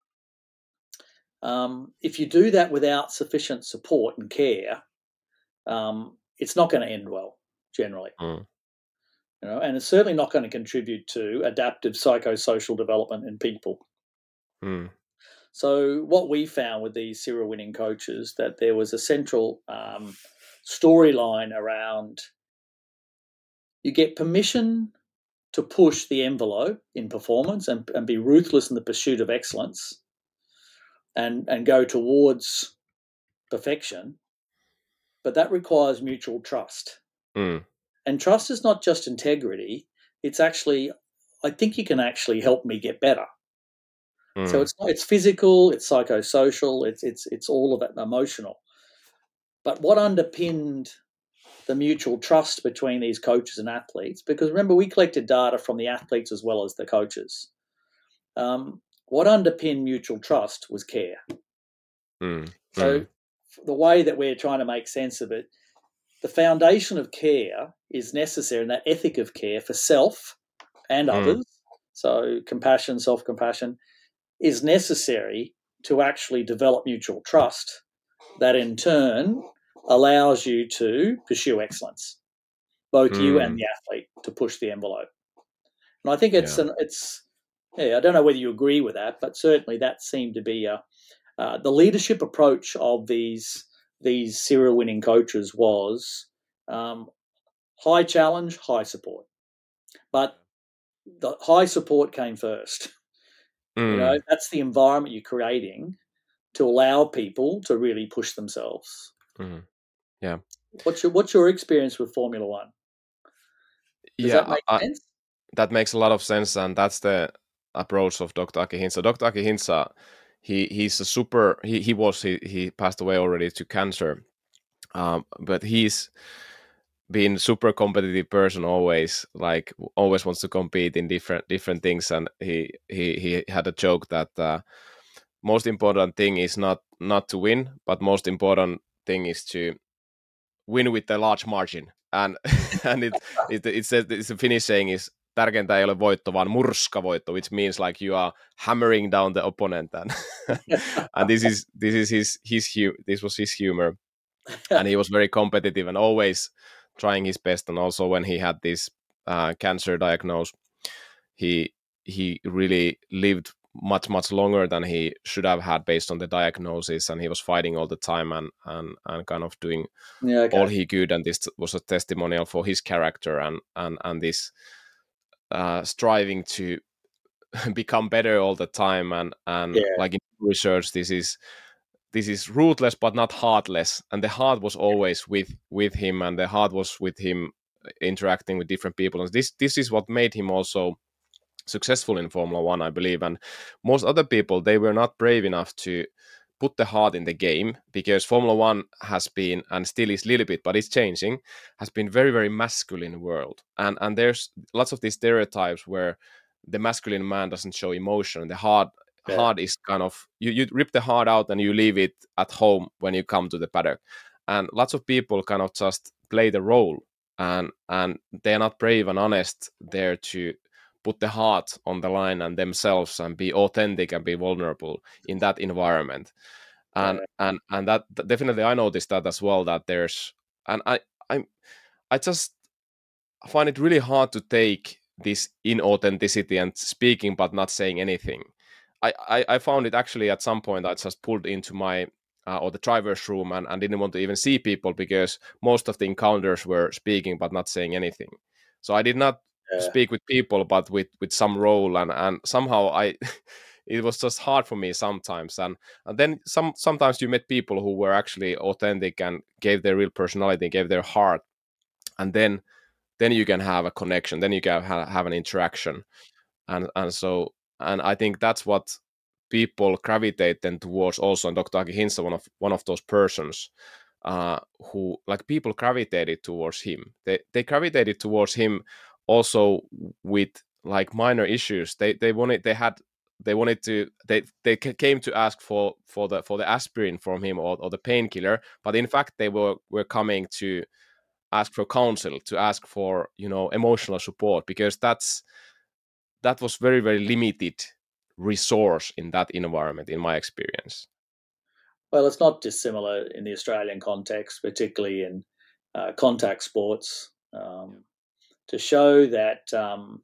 um, if you do that without sufficient support and care, um, it's not going to end well generally. Mm, You know, and it's certainly not going to contribute to adaptive psychosocial development in people. mm, So what we found with these serial winning coaches, that there was a central um, storyline around you get permission to push the envelope in performance and, and be ruthless in the pursuit of excellence and, and go towards perfection, but that requires mutual trust. mm, And trust is not just integrity, it's actually, I think you can actually help me get better. So mm, it's it's physical, it's psychosocial, it's it's it's all of it emotional. But what underpinned the mutual trust between these coaches and athletes, because remember, we collected data from the athletes as well as the coaches. Um, what underpinned mutual trust was care. Mm. So Mm. the way that we're trying to make sense of it, the foundation of care is necessary, and that ethic of care for self and Mm. others, so compassion, self-compassion, is necessary to actually develop mutual trust that in turn allows you to pursue excellence, both you and Mm. the athlete, to push the envelope. And I think it's Yeah. an it's yeah, I don't know whether you agree with that, but certainly that seemed to be a, uh, the leadership approach of these these serial winning coaches was um, high challenge, high support. But the high support came first. You know, Mm. that's the environment you're creating to allow people to really push themselves. Mm. Yeah. What's your what's your experience with Formula One? Does Yeah. that make I, I, sense? that makes a lot of sense, and that's the approach of Doctor Aki Hintsa. Doctor Aki Hintsa, he he's a super. He he was he he passed away already to cancer, um, but he's been super competitive person always. Like always wants to compete in different different things, and he he he had a joke that uh, most important thing is not not to win, but most important thing is to win with a large margin. And and it it it says it's a Finnish saying is tärkeintä ei ole voitto, vaan murskavoitto, which means like you are hammering down the opponent. And and this is this is his his hu- this was his humor, and he was very competitive and always trying his best. And also when he had this uh, cancer diagnosis, he he really lived much much longer than he should have had based on the diagnosis, and he was fighting all the time and and, and kind of doing Yeah, okay. all he could, and this was a testimonial for his character and and and this uh, striving to become better all the time. And and Yeah, like in research, this is this is ruthless but not heartless, and the heart was always with with him, and the heart was with him interacting with different people, and this this is what made him also successful in Formula One, I believe. And most other people, they were not brave enough to put the heart in the game, because Formula One has been, and still is a little bit, but it's changing, has been very very masculine world, and and there's lots of these stereotypes where the masculine man doesn't show emotion. The heart yeah, heart is kind of, you, you rip the heart out and you leave it at home when you come to the paddock, and lots of people kind of just play the role, and and they're not brave and honest there to put the heart on the line and themselves and be authentic and be vulnerable in that environment. And yeah. and and that definitely I noticed that as well, that there's, and i i i just find it really hard to take this inauthenticity and speaking but not saying anything. I, I, I found it actually at some point I just pulled into my uh, or the driver's room and, and didn't want to even see people, because most of the encounters were speaking but not saying anything. So I did not Yeah. speak with people but with with some role, and and somehow I it was just hard for me sometimes. and and then some sometimes you met people who were actually authentic and gave their real personality, gave their heart, and then then you can have a connection, then you can ha- have an interaction. And and so, and I think that's what people gravitate then towards also. And Dr. Aki Hintsa, one of one of those persons uh who, like, people gravitated towards him. They they gravitated towards him also with like minor issues. They they wanted they had they wanted to they they ca- came to ask for for the for the aspirin from him, or, or the painkiller, but in fact they were were coming to ask for counsel, to ask for, you know, emotional support, because that's that was very very limited resource in that environment, in my experience. Well, it's not dissimilar in the Australian context, particularly in uh, contact sports, um, to show that um,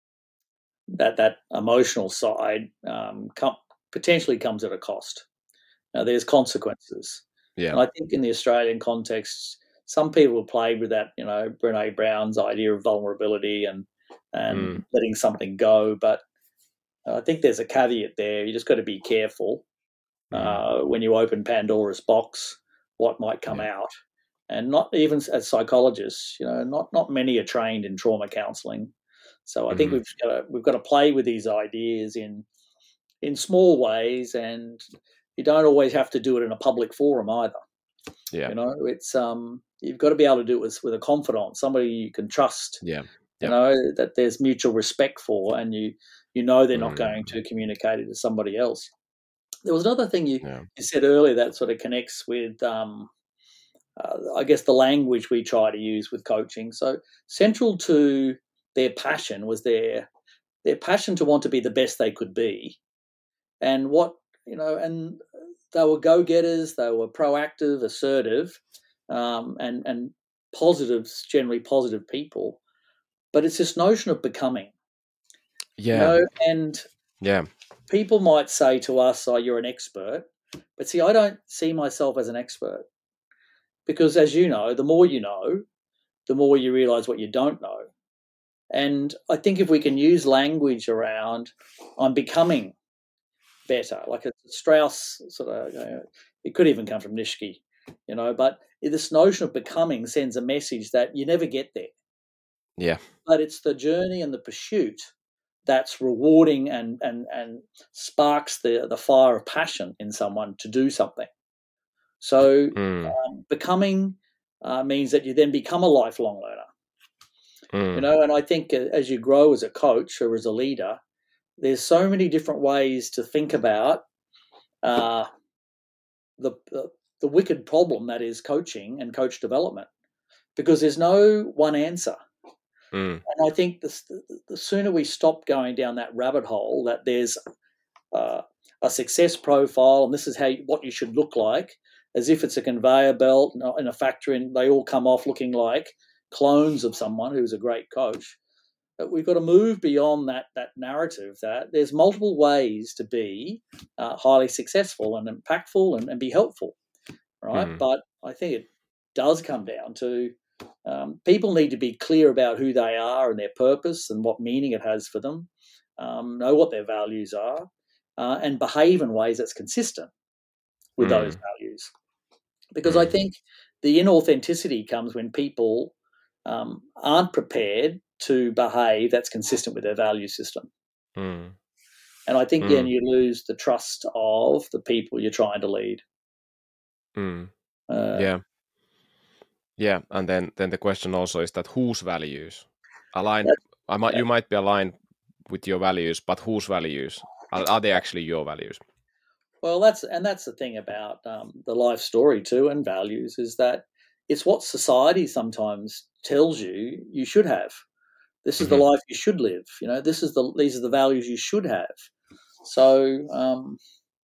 that that emotional side um, com- potentially comes at a cost. Now, there's consequences, Yeah. and I think in the Australian context, some people have played with that. You know, Brene Brown's idea of vulnerability and and Mm, letting something go, but I think there's a caveat there. You just got to be careful mm, uh, when you open Pandora's box, what might come yeah. out. And not even as psychologists, you know, not not many are trained in trauma counselling. So I think Mhm. we've got to, we've got to play with these ideas in in small ways, and you don't always have to do it in a public forum either. Yeah. You know, it's um, you've got to be able to do it with, with a confidant, somebody you can trust. Yeah. You Yeah. know, that there's mutual respect for, and you you know they're not Mm, going to communicate it to somebody else. there was another thing you, Yeah. you said earlier that sort of connects with, um, uh, I guess, the language we try to use with coaching. So central to their passion was their their passion to want to be the best they could be, and what you know, and they were go getters. They were proactive, assertive, um, and and positive, generally positive people. But it's this notion of becoming, you Yeah. know, and Yeah. people might say to us, "Oh, you're an expert," but see, I don't see myself as an expert because, as you know, the more you know, the more you realize what you don't know. And I think if we can use language around, I'm becoming better, like a Strauss sort of, you know, it could even come from Nishki, you know, but this notion of becoming sends a message that you never get there, Yeah. but it's the journey and the pursuit that's rewarding and and and sparks the the fire of passion in someone to do something. So Mm. um, becoming uh, means that you then become a lifelong learner, you Mm. know. And I think uh, as you grow as a coach or as a leader, there's so many different ways to think about uh, the, the the wicked problem that is coaching and coach development, because there's no one answer. Mm. And I think the, the sooner we stop going down that rabbit hole, that there's uh, a success profile and this is how you, what you should look like, as if it's a conveyor belt in a factory and they all come off looking like clones of someone who's a great coach. But we've got to move beyond that that narrative that there's multiple ways to be uh, highly successful and impactful and, and be helpful, right? Mm. But I think it does come down to um, people need to be clear about who they are and their purpose and what meaning it has for them, um, know what their values are, uh, and behave in ways that's consistent with those Mm. values. Because I Mm. think the inauthenticity comes when people um, aren't prepared to behave that's consistent with their value system. Mm. And I think then Mm. you lose the trust of the people you're trying to lead. Mm. Uh, Yeah. Yeah. And then then the question also is that whose values align? that's, I might yeah. you might be aligned with your values, but whose values are, are they actually your values? Well, that's and that's the thing about um, the life story too, and values is that it's what society sometimes tells you you should have. This is the Hmm. life you should live. You know, this is the these are the values you should have. So, um,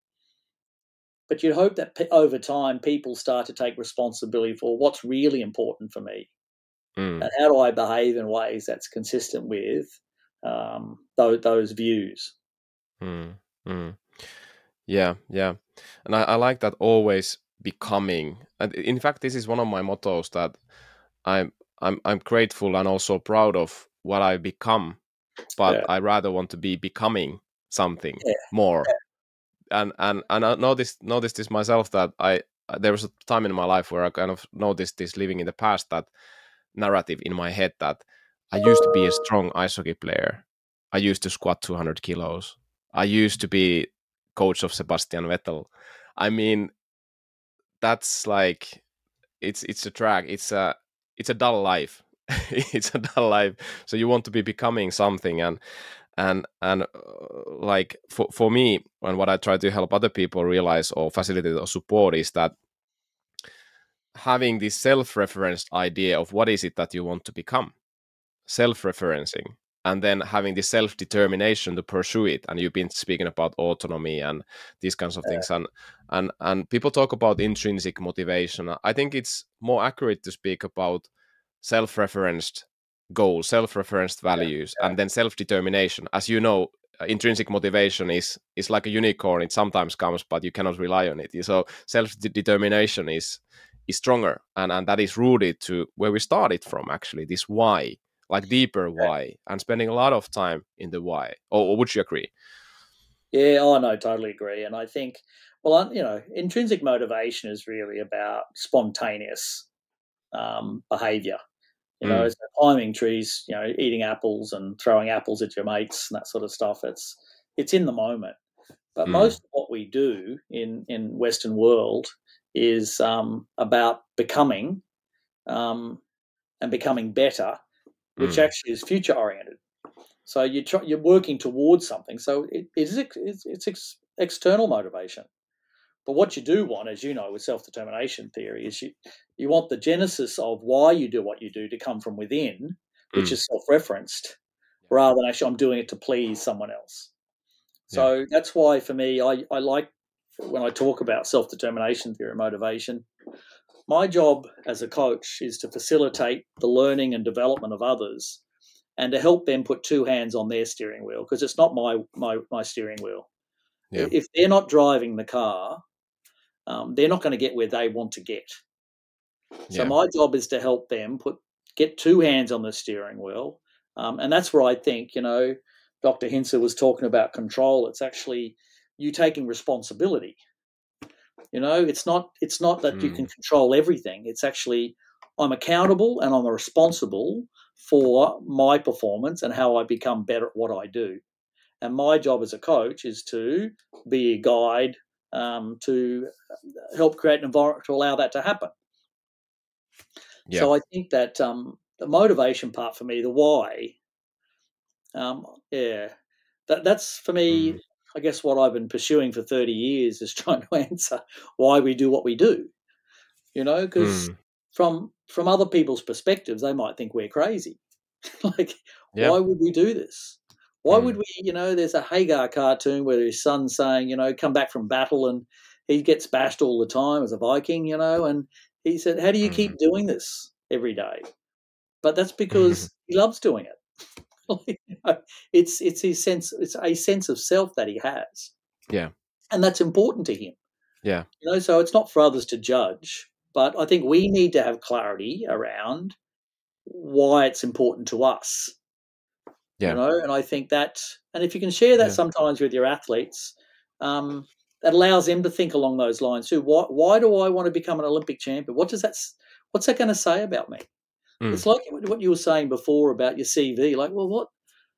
but you'd hope that pe- over time people start to take responsibility for what's really important for me Mm. and how do I behave in ways that's consistent with um, those, those views. Mm. Mm. Yeah. Yeah. And I, I like that always becoming. And in fact, this is one of my mottos that I'm I'm I'm grateful and also proud of what I become, but Yeah, I rather want to be becoming something yeah, more. And and and I noticed noticed this myself that I there was a time in my life where I kind of noticed this living in the past, that narrative in my head that I used to be a strong ice hockey player. I used to squat two hundred kilos. I used to be coach of Sebastian Vettel. I mean, that's like it's it's a drag. It's a it's a dull life. It's a dull life. So you want to be becoming something, and and and uh, like for for me, and what I try to help other people realize or facilitate or support is that having this self-referenced idea of what is it that you want to become, self-referencing, and then having the self-determination to pursue it. And you've been speaking about autonomy and these kinds of things, and and and people talk about intrinsic motivation. I think it's more accurate to speak about self-referenced goals, self-referenced yeah, values, and then self-determination. As you know, uh, intrinsic motivation is is like a unicorn. It sometimes comes, but you cannot rely on it. So self-determination is is stronger, and and that is rooted to where we started from, actually, this why, like deeper yeah. why, and spending a lot of time in the why. Or, or would you agree? Yeah, oh no, totally agree. And I think, well, I- you know, intrinsic motivation is really about spontaneous um, behavior. You know, Mm. it's climbing trees, you know, eating apples and throwing apples at your mates and that sort of stuff. It's it's in the moment. But Mm. most of what we do in in Western world is um, about becoming um, and becoming better, which Mm. actually is future oriented. So you try, you're working towards something. So it, it's it's, it's external motivation. But what you do want, as you know, with self-determination theory, is you, you want the genesis of why you do what you do to come from within, which Mm. is self-referenced, rather than actually I'm doing it to please someone else. So Yeah. that's why, for me, I, I like when I talk about self-determination theory and motivation, my job as a coach is to facilitate the learning and development of others and to help them put two hands on their steering wheel, because it's not my, my, my steering wheel. Yeah. If they're not driving the car, um, they're not going to get where they want to get. So Yeah. my job is to help them put get two hands on the steering wheel. Um, and that's where I think, you know, Doctor Hintze was talking about control. It's actually you taking responsibility. You know, it's not it's not that you can Mm. control everything. It's actually I'm accountable and I'm responsible for my performance and how I become better at what I do. And my job as a coach is to be a guide um, to help create an environment to allow that to happen. Yeah. So I think that um, the motivation part for me, the why, um, yeah, that that's for me. Mm. I guess what I've been pursuing for thirty years is trying to answer why we do what we do. You know, because Mm. from from other people's perspectives, they might think we're crazy. Like, Yeah. why would we do this? Why would Mm. we? You know, there's a Hagar cartoon where his son's saying, you know, come back from battle, and he gets bashed all the time as a Viking. You know, and he said, how do you Mm. keep doing this every day? But that's because he loves doing it. You know, it's it's his sense. It's a sense of self that he has, Yeah. and that's important to him. Yeah. You know, so it's not for others to judge, but I think we need to have clarity around why it's important to us. You Yeah. know, and I think that, and if you can share that Yeah. sometimes with your athletes, um, that allows them to think along those lines too. Why, why do I want to become an Olympic champion? What does that? What's that going to say about me? Mm. It's like what you were saying before about your C V. Like, well, what?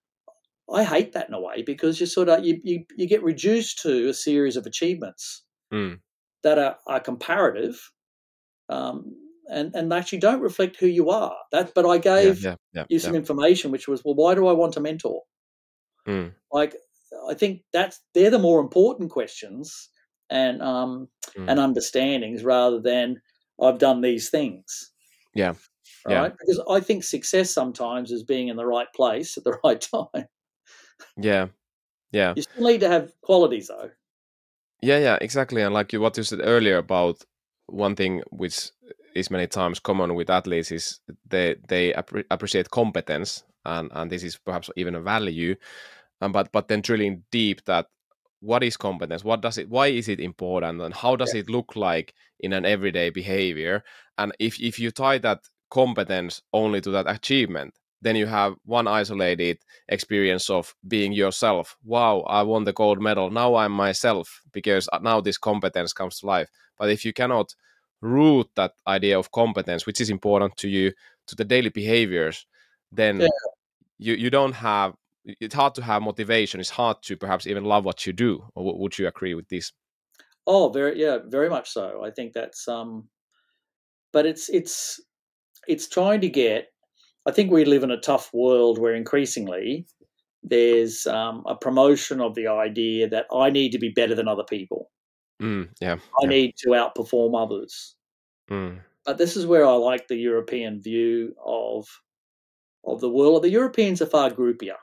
I hate that in a way because you sort of you you, you get reduced to a series of achievements Mm. that are, are comparative, um, and and actually don't reflect who you are. That, but I Yeah. gave Yeah. Yeah. you Yeah. some information, which was, well, why do I want to mentor? Mm. Like, I think that's they're the more important questions and um, and Mm. understandings rather than I've done these things, Yeah. Yeah. right? Because I think success sometimes is being in the right place at the right time. Yeah. Yeah. You still need to have qualities, though. Yeah, yeah, exactly. And like you, what you said earlier about one thing which is many times common with athletes is they they appre appreciate competence, and and this is perhaps even a value. Um, but but then drilling deep that what is competence? What does it? Why is it important? And how does Yeah. it look like in an everyday behavior? And if if you tie that competence only to that achievement, then you have one isolated experience of being yourself. Wow, I won the gold medal. Now I'm myself because now this competence comes to life. But if you cannot root that idea of competence, which is important to you, to the daily behaviors, Yeah. then you, you don't have, it's hard to have motivation. It's hard to perhaps even love what you do. Or w- would you agree with this? Oh, very yeah, very much so. I think that's um, but it's it's it's trying to get. I think we live in a tough world where increasingly there's um, a promotion of the idea that I need to be better than other people. Mm, yeah, I yeah. need to outperform others. Mm, But this is where I like the European view of of the world. The Europeans are far groupier.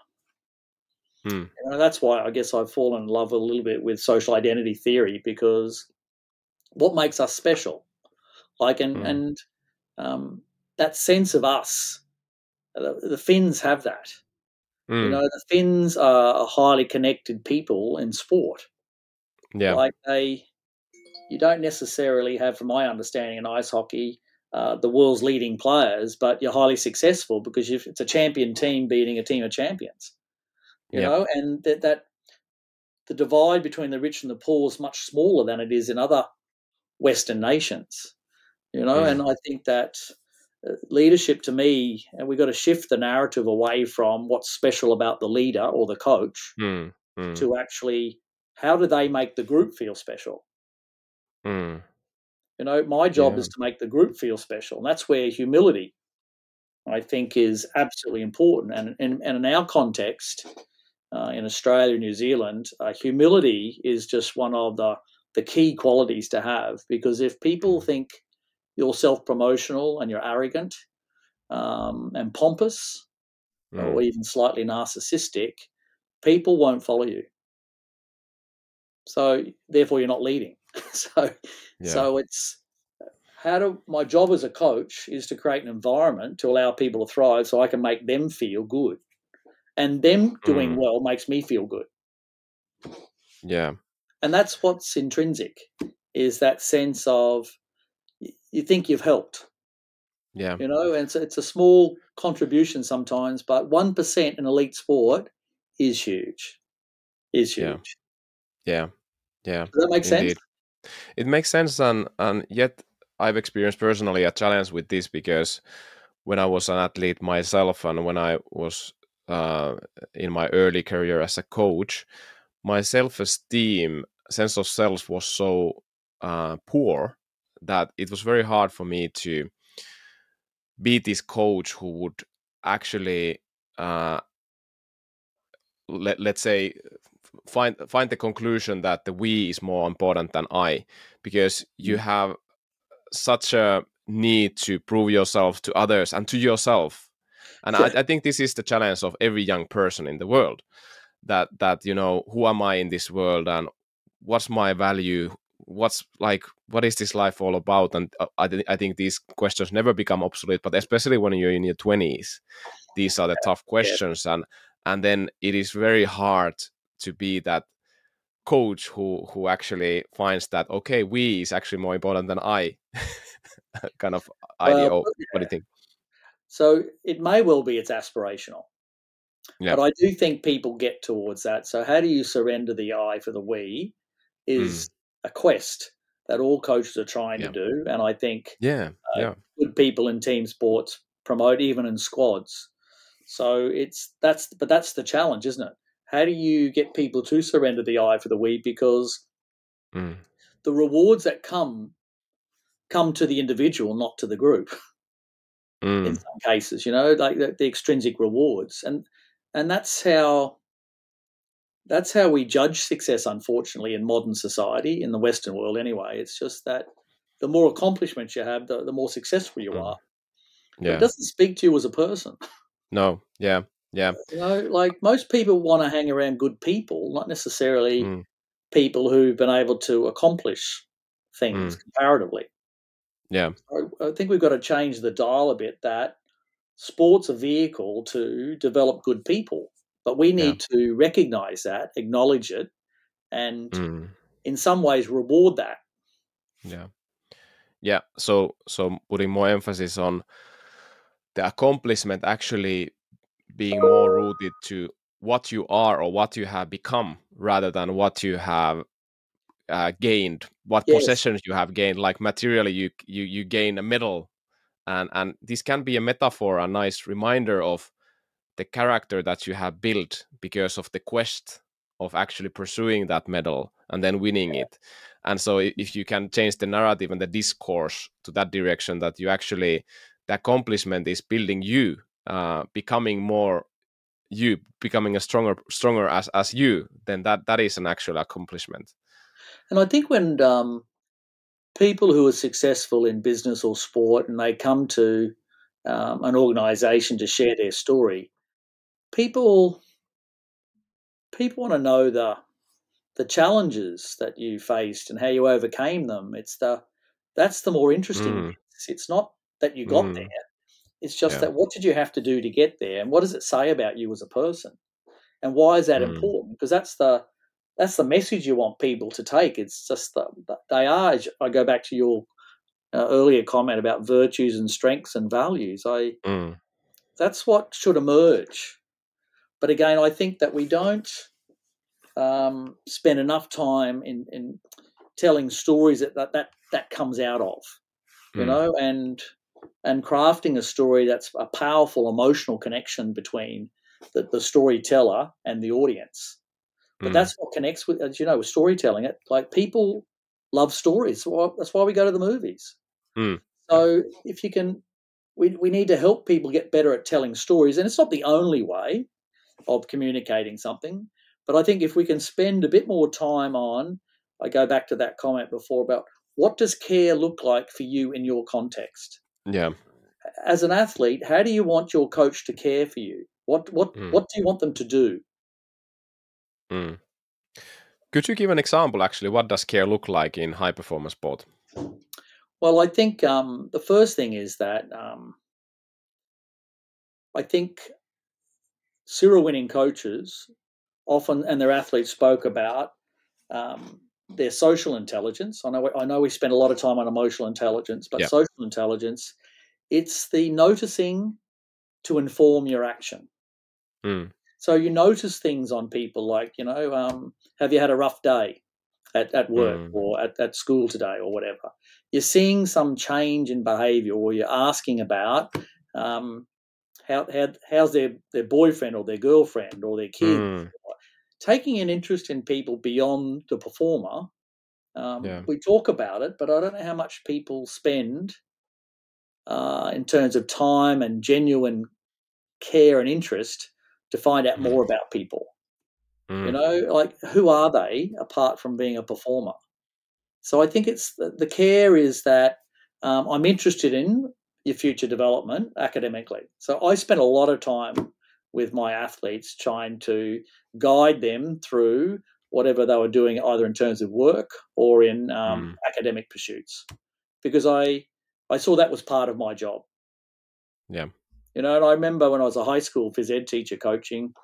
mm, You know, that's why I guess I've fallen in love a little bit with social identity theory, because what makes us special, like and mm, and um, that sense of us. The, the Finns have that. You know, mm, the Finns are a highly connected people in sport. yeah, Like they, you don't necessarily have, from my understanding, in ice hockey, uh, the world's leading players, but you're highly successful because you've, it's a champion team beating a team of champions. You yeah. know, and that that the divide between the rich and the poor is much smaller than it is in other Western nations. You know, Mm, and I think that uh, leadership to me, and we've got to shift the narrative away from what's special about the leader or the coach mm, mm, to actually how do they make the group feel special? mm, You know, my job yeah. is to make the group feel special. And that's where humility, I think, is absolutely important. And, and, and in our context, uh, in Australia and New Zealand, uh, humility is just one of the, the key qualities to have, because if people think you're self-promotional and you're arrogant um, and pompous mm. or even slightly narcissistic, people won't follow you. So therefore you're not leading. so yeah. so it's how do my job as a coach is to create an environment to allow people to thrive so I can make them feel good. And them doing mm. well makes me feel good. Yeah. And that's what's intrinsic, is that sense of you think you've helped. Yeah. You know, and it's, it's a small contribution sometimes, but one percent in elite sport is huge. Is huge. Yeah. Yeah. Does that make Indeed. sense? It makes sense, and, and yet I've experienced personally a challenge with this, because when I was an athlete myself and when I was uh, in my early career as a coach, my self-esteem, sense of self was so uh, poor that it was very hard for me to be this coach who would actually, uh, let, let's say, find find the conclusion that the we is more important than I, because you have such a need to prove yourself to others and to yourself. And I, I think this is the challenge of every young person in the world, that that you know, who am I in this world, and what's my value, what's like, what is this life all about? And uh, I, th- I think these questions never become obsolete, but especially when you're in your twenties, these are the tough questions. Yeah. and and then it is very hard to be that coach who who actually finds that, okay, we is actually more important than I. Kind of idea. Well, yeah. What do you think? So it may well be it's aspirational. Yeah. But I do think people get towards that. So how do you surrender the I for the we is mm. a quest that all coaches are trying yeah. to do. And I think yeah, uh, yeah. good people in team sports promote, even in squads. So it's that's but that's the challenge, isn't it? How do you get people to surrender the I for the we? Because mm. the rewards that come come to the individual, not to the group. Mm. In some cases, you know, like the, the extrinsic rewards, and and that's how that's how we judge success. Unfortunately, in modern society, in the Western world, anyway, it's just that the more accomplishments you have, the, the more successful you mm. are. Yeah. But it doesn't speak to you as a person. No. Yeah. Yeah. You know, like most people want to hang around good people, not necessarily mm. people who've been able to accomplish things mm. comparatively. Yeah. So I think we've got to change the dial a bit, that sport's a vehicle to develop good people, but we need yeah. to recognize that, acknowledge it, and mm. in some ways reward that. Yeah. Yeah. So, so putting more emphasis on the accomplishment actually being more rooted to what you are or what you have become, rather than what you have uh, gained, what yes. possessions you have gained. Like materially, you you you gain a medal, and and this can be a metaphor, a nice reminder of the character that you have built because of the quest of actually pursuing that medal and then winning it. And so if you can change the narrative and the discourse to that direction, that you actually, the accomplishment is building you, uh, becoming more you, becoming a stronger stronger as as you, then that that is an actual accomplishment. And I think when um, people who are successful in business or sport and they come to um, an organization to share their story, people people want to know the the challenges that you faced and how you overcame them. It's the that's the more interesting mm. bit. It's not that you got mm. there. It's just yeah. that what did you have to do to get there, and what does it say about you as a person, and why is that mm. important? Because that's the that's the message you want people to take. It's just that they are. I go back to your uh, earlier comment about virtues and strengths and values. I mm. that's what should emerge. But again, I think that we don't um, spend enough time in, in telling stories that, that that that comes out of, you mm. know, and and crafting a story that's a powerful emotional connection between the, the storyteller and the audience. But mm. that's what connects with, as you know, with storytelling. It like people love stories. So that's why we go to the movies. Mm. So if you can, we we need to help people get better at telling stories, and it's not the only way. of communicating something. But I think if we can spend a bit more time on, I go back to that comment before about what does care look like for you in your context? Yeah. As an athlete, how do you want your coach to care for you? What what Mm. what do you want them to do? Mm. Could you give an example, actually? What does care look like in high performance sport? Well, I think um, the first thing is that um, I think Cyril winning coaches often, and their athletes spoke about um, their social intelligence. I know I know we spend a lot of time on emotional intelligence, but Yeah. social intelligence, it's the noticing to inform your action. Mm. So you notice things on people like, you know, um, have you had a rough day at, at work Mm. or at, at school today or whatever? You're seeing some change in behavior, or you're asking about um, how, how how's their, their boyfriend or their girlfriend or their kids. Mm. Taking an interest in people beyond the performer. Um, Yeah. we talk about it, but I don't know how much people spend uh, in terms of time and genuine care and interest to find out Mm. more about people. You Mm. know, like who are they apart from being a performer? So I think it's the, the care is that um, I'm interested in your future development academically. So I spent a lot of time with my athletes trying to guide them through whatever they were doing, either in terms of work or in um, Mm. academic pursuits, because I I saw that was part of my job. Yeah. You know, and I remember when I was a high school phys ed teacher coaching,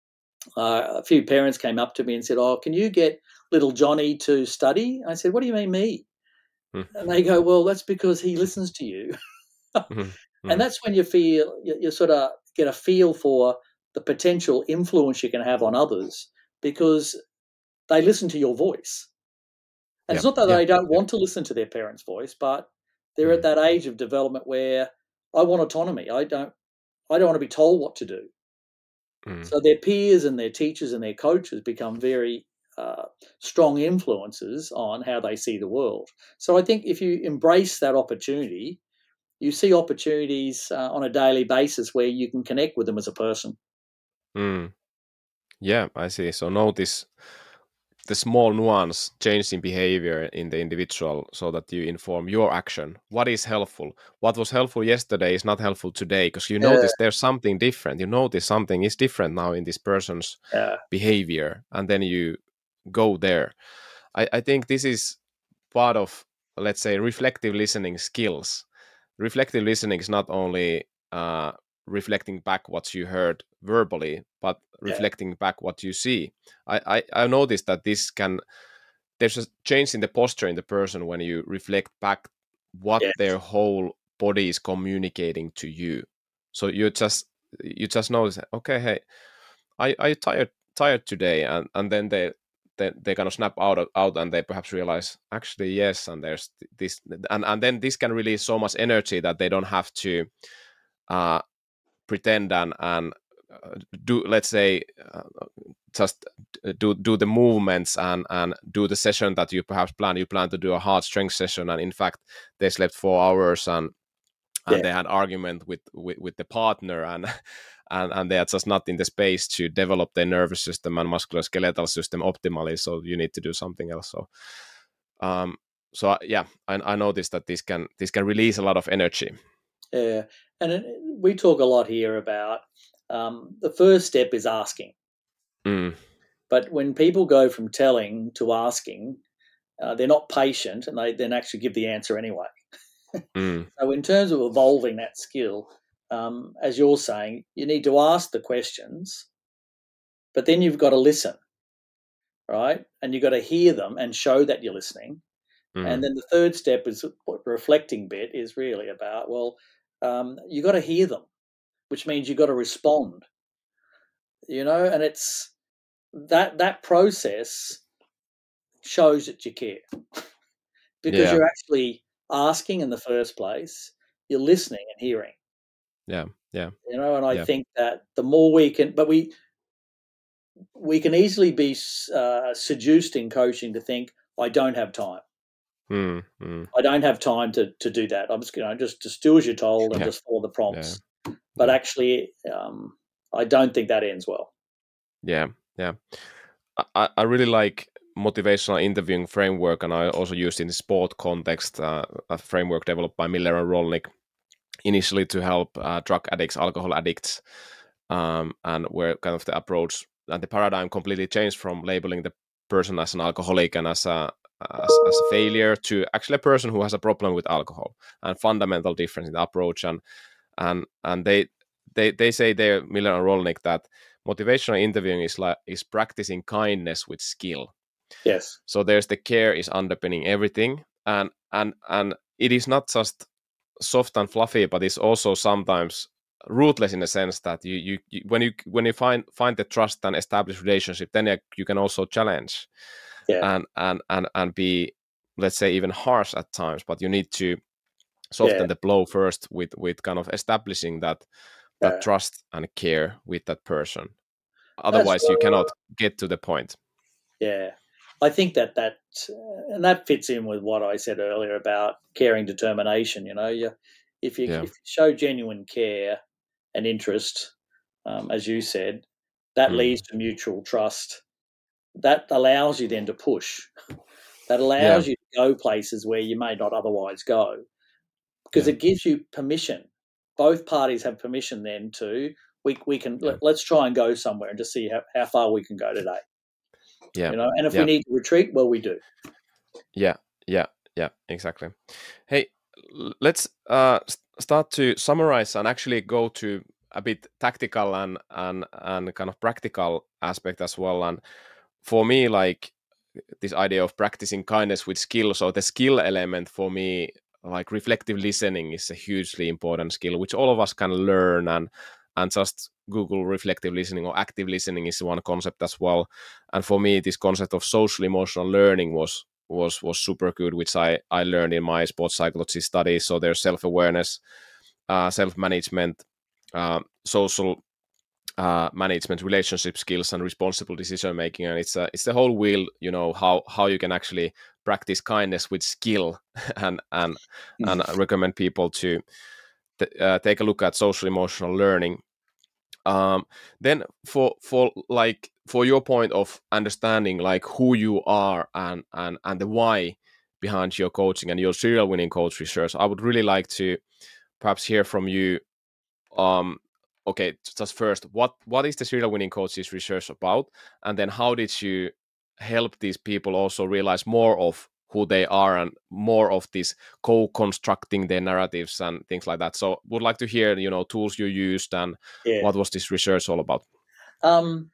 uh, a few parents came up to me and said, "Oh, can you get little Johnny to study?" I said, "What do you mean me?" Mm. And they go, "Well, that's because he listens to you." Mm. And Mm. that's when you feel you, you sort of get a feel for the potential influence you can have on others, because they listen to your voice. And Yeah. it's not that Yeah. they don't Yeah. want to listen to their parents' voice, but they're at Mm. that age of development where I want autonomy. I don't I don't want to be told what to do. Mm. So their peers and their teachers and their coaches become very uh, strong influences on how they see the world. So I think if you embrace that opportunity, you see opportunities uh, on a daily basis where you can connect with them as a person. Mm. Yeah, I see. So notice the small nuance change in behavior in the individual so that you inform your action. What is helpful? What was helpful yesterday is not helpful today, because you Yeah, notice there's something different. You notice something is different now in this person's yeah, behavior, and then you go there. I, I think this is part of, let's say, reflective listening skills. Reflective listening is not only uh, reflecting back what you heard verbally, but yeah, reflecting back what you see. I, I, I noticed that this can, there's a change in the posture in the person when you reflect back what yeah, their whole body is communicating to you. So you just you just notice, okay, hey, I I tired tired today, and and then they they, they kind of snap out of, out and they perhaps realize, actually yes, and there's this, and and then this can release so much energy that they don't have to uh pretend and and uh, do, let's say, uh, just do do the movements and and do the session that you perhaps plan you plan to do a hard strength session, and in fact they slept four hours, and yeah, and they had argument with, with with the partner, and and and they are just not in the space to develop their nervous system and musculoskeletal system optimally, so you need to do something else. So um so yeah, I, I noticed that this can this can release a lot of energy. yeah. And it, we talk a lot here about um, the first step is asking. Mm. But when people go from telling to asking, uh, they're not patient and they then actually give the answer anyway. Mm. So, in terms of evolving that skill, um, as you're saying, you need to ask the questions, but then you've got to listen, right? And you've got to hear them and show that you're listening. And Mm. then the third step is what reflecting bit is really about. Well, um, you got to hear them, which means you've got to respond. You know, and it's that that process shows that you care because Yeah. you're actually asking in the first place. You're listening and hearing. Yeah. Yeah. You know, and I Yeah. think that the more we can, but we we can easily be uh, seduced in coaching to think, I don't have time. Mm. Mm. I don't have time to to do that. I'm just, you know, just just do as you're told and Yeah. just follow the Yeah. prompts. But Yeah. actually, um, I don't think that ends well. Yeah, yeah. I, I really like motivational interviewing framework, and I also used in the sport context uh, a framework developed by Miller and Rolnick initially to help uh, drug addicts, alcohol addicts, um, and where kind of the approach and the paradigm completely changed from labeling the person as an alcoholic and as a as, as a failure to actually a person who has a problem with alcohol, and fundamental difference in the approach. and and and they they they say there, Miller and Rolnick, that motivational interviewing is like is practicing kindness with skill. Yes. So there's the care is underpinning everything, and and and it is not just soft and fluffy, but it's also sometimes ruthless in the sense that you, you, you when you when you find find the trust and establish relationship, then you, you can also challenge Yeah. and and and and be, let's say, even harsh at times, but you need to Yeah. soften the blow first with with kind of establishing that that Yeah. trust and care with that person. That's Otherwise you right. cannot get to the point. Yeah. I think that that uh, and that fits in with what I said earlier about caring determination. You know, you if you Yeah. if you show genuine care and interest, um, as you said, that leads Mm. to mutual trust. That allows you then to push. That Yeah. allows you to go places where you may not otherwise go because Yeah. it gives you permission. Both parties have permission then to we we can Yeah. let, let's try and go somewhere and just see how, how far we can go today. Yeah. You know, and if we Yeah. need to retreat, well, we do. Yeah. Yeah. Yeah. Exactly. Hey, l- let's uh s- start to summarize and actually go to a bit tactical and and and kind of practical aspect as well. And for me, like this idea of practicing kindness with skill, so the skill element for me, like reflective listening is a hugely important skill which all of us can learn. and and just Google reflective listening or active listening is one concept as well. And for me, this concept of social emotional learning was was was super good, which i i learned in my sports psychology studies. So there's self-awareness, uh, self-management, uh, social uh, management, relationship skills, and responsible decision making. And it's a, it's the whole wheel, you know, how how you can actually practice kindness with skill. and and and I recommend people to t- uh, take a look at social emotional learning. Um, then for for like for your point of understanding like who you are and and and the why behind your coaching and your serial winning coach research, I would really like to perhaps hear from you. um okay, just first, what what is the serial winning coaches research about, and then how did you help these people also realize more of who they are and more of this co-constructing their narratives and things like that. So would like to hear, you know, tools you used and Yeah. what was this research all about. Um,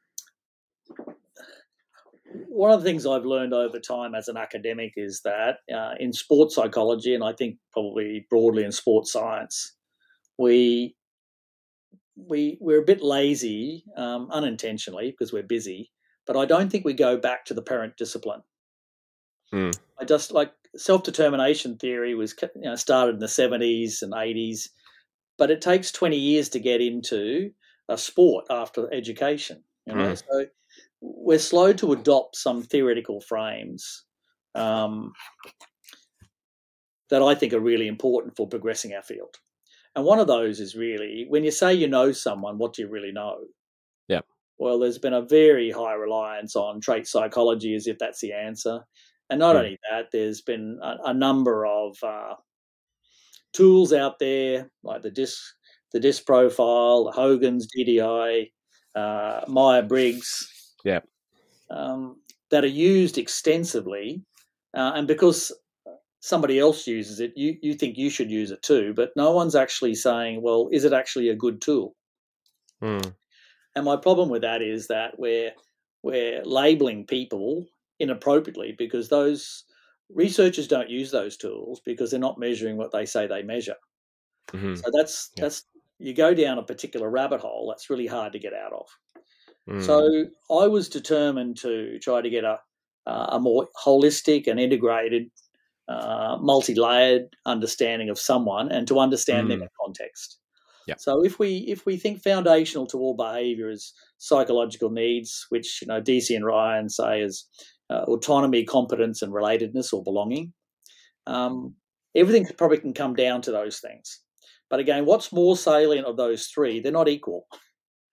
one of the things I've learned over time as an academic is that uh, in sports psychology, and I think probably broadly in sports science, we we we're a bit lazy um, unintentionally because we're busy. But I don't think we go back to the parent discipline. Mm, I just like self determination theory was you know, started in the seventies and eighties, but it takes twenty years to get into a sport after education. You know, mm, so we're slow to adopt some theoretical frames um, that I think are really important for progressing our field. And one of those is really when you say you know someone, what do you really know? yeah. Well, there's been a very high reliance on trait psychology as if that's the answer. And not Mm, only that, there's been a, a number of uh, tools out there like the DISC, the DISC profile, Hogan's D D I, uh, Meyer Briggs, yeah. um, that are used extensively. Uh, and because somebody else uses it, you, you think you should use it too, but no one's actually saying, well, is it actually a good tool? Mm, And my problem with that is that we're we're labeling people inappropriately because those researchers don't use those tools because they're not measuring what they say they measure. mm-hmm. So that's Yeah. that's you go down a particular rabbit hole that's really hard to get out of. So Mm, I was determined to try to get a a more holistic and integrated, uh, multi-layered understanding of someone and to understand them mm, in context. yeah. So if we if we think foundational to all behaviour is psychological needs, which you know D C and Ryan say is uh, autonomy, competence, and relatedness or belonging, um, everything probably can come down to those things. But again, what's more salient of those three? They're not equal.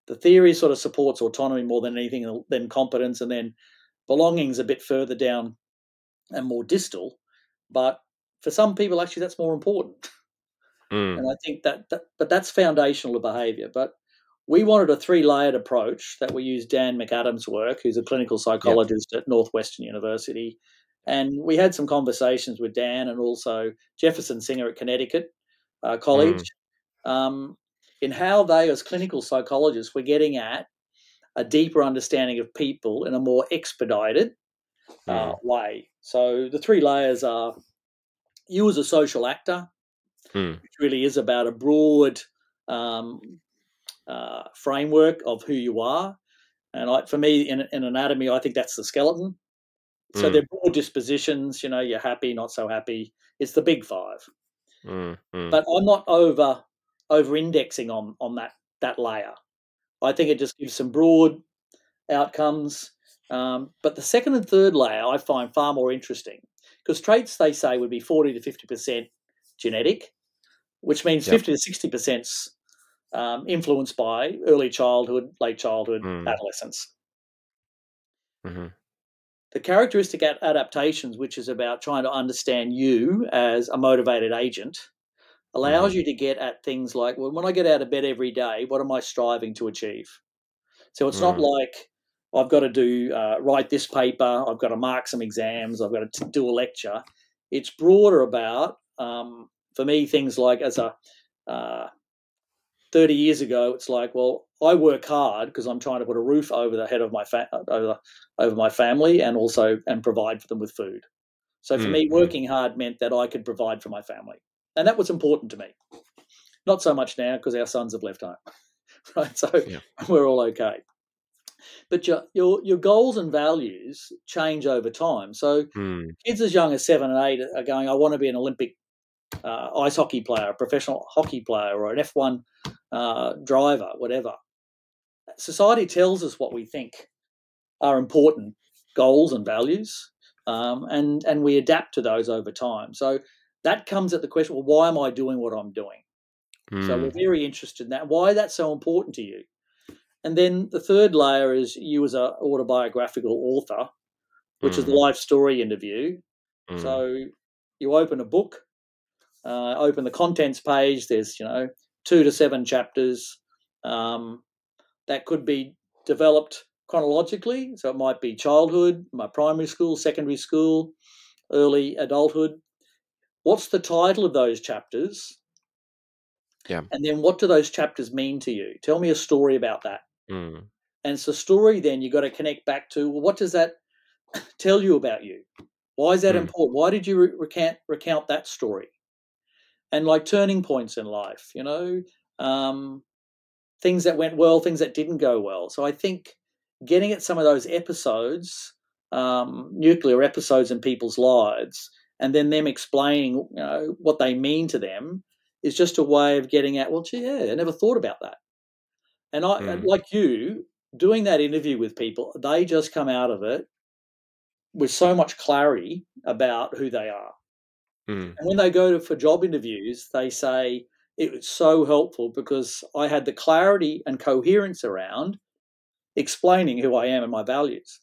the theory sort of supports autonomy more than anything than competence, and then belonging's a bit further down and more distal. But for some people, actually, that's more important. Mm. And I think that, that but that's foundational to behaviour. But we wanted a three-layered approach that we used Dan McAdams' work, who's a clinical Yeah. psychologist at Northwestern University. And we had some conversations with Dan and also Jefferson Singer at Connecticut uh, College Mm. um, in how they, as clinical psychologists, were getting at a deeper understanding of people in a more expedited uh, Mm. way. So the three layers are you as a social actor, Mm. which really is about a broad um, uh, framework of who you are. And I, for me, in, in anatomy, I think that's the skeleton. So Mm. they're broad dispositions. You know, you're happy, not so happy. It's the big five. Mm. Mm. But I'm not over over indexing on on that that layer. I think it just gives some broad outcomes. Um, but the second and third layer I find far more interesting because traits they say would be forty to fifty percent genetic, which means Yep. fifty to sixty percent um, influenced by early childhood, late childhood, Mm. adolescence. Mm-hmm. The characteristic adaptations, which is about trying to understand you as a motivated agent, Mm-hmm. allows you to get at things like, well, when I get out of bed every day, what am I striving to achieve? So it's not Mm. like I've got to do uh, write this paper, I've got to mark some exams, I've got to do a lecture. It's broader about, um, for me, things like as a uh, thirty years ago, it's like, well, I work hard because I'm trying to put a roof over the head of my fa- over over my family and also and provide for them with food. So for me, Mm. working hard meant that I could provide for my family, and that was important to me. Not so much now because our sons have left home, right? So Yeah. we're all okay. But your your your goals and values change over time. So Mm. kids as young as seven and eight are going, I want to be an Olympic uh, ice hockey player, a professional hockey player, or an F one uh, driver, whatever. Society tells us what we think are important goals and values, um, and and we adapt to those over time. So that comes at the question: well, why am I doing what I'm doing? So we're Mm. very interested in that. Why that's so important to you? And then the third layer is you as an autobiographical author, which is the Mm. life story interview. Mm. So you open a book, uh, open the contents page. There's you know two to seven chapters um, that could be developed chronologically. So it might be childhood, my primary school, secondary school, early adulthood. What's the title of those chapters? Yeah. And then what do those chapters mean to you? Tell me a story about that. Mm. And it's a story then you've got to connect back to, well, what does that tell you about you? Why is that Mm. important? Why did you re- recount, recount that story? And like turning points in life, you know, um, things that went well, things that didn't go well. So I think getting at some of those episodes, um, nuclear episodes in people's lives, and then them explaining, you know, what they mean to them is just a way of getting at, well, gee, yeah, I never thought about that. And I, Mm. like you, doing that interview with people, they just come out of it with so much clarity about who they are. Mm. And when they go to, for job interviews, they say it was so helpful because I had the clarity and coherence around explaining who I am and my values.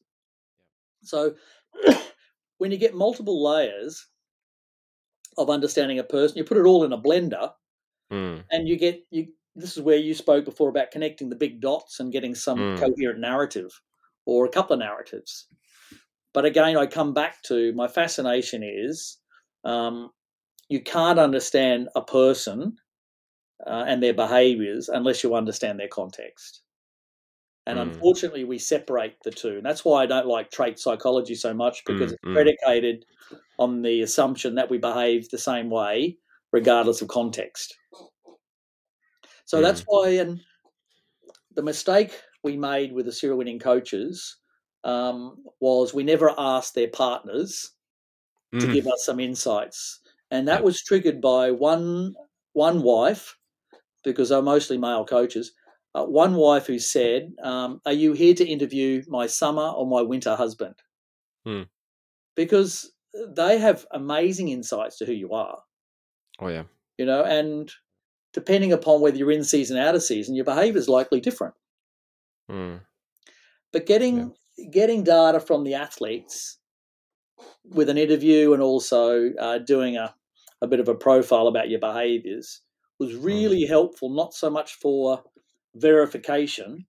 So when you get multiple layers of understanding a person, you put it all in a blender Mm. and you get you this is where you spoke before about connecting the big dots and getting some Mm. coherent narrative or a couple of narratives. But again, I come back to my fascination is um, you can't understand a person uh, and their behaviors unless you understand their context. And Mm. unfortunately, we separate the two. And that's why I don't like trait psychology so much because Mm. it's Mm. predicated on the assumption that we behave the same way regardless of context. So that's Mm. why, and the mistake we made with the serial winning coaches um, was we never asked their partners to Mm. give us some insights. And that Yep. was triggered by one one wife, because they're mostly male coaches, uh, one wife who said, um, are you here to interview my summer or my winter husband? Mm. Because they have amazing insights to who you are, Oh yeah. you know, and depending upon whether you're in season, out of season, your behavior is likely different. Mm. But getting yeah. getting data from the athletes with an interview and also uh, doing a, a bit of a profile about your behaviours was really mm. helpful, not so much for verification,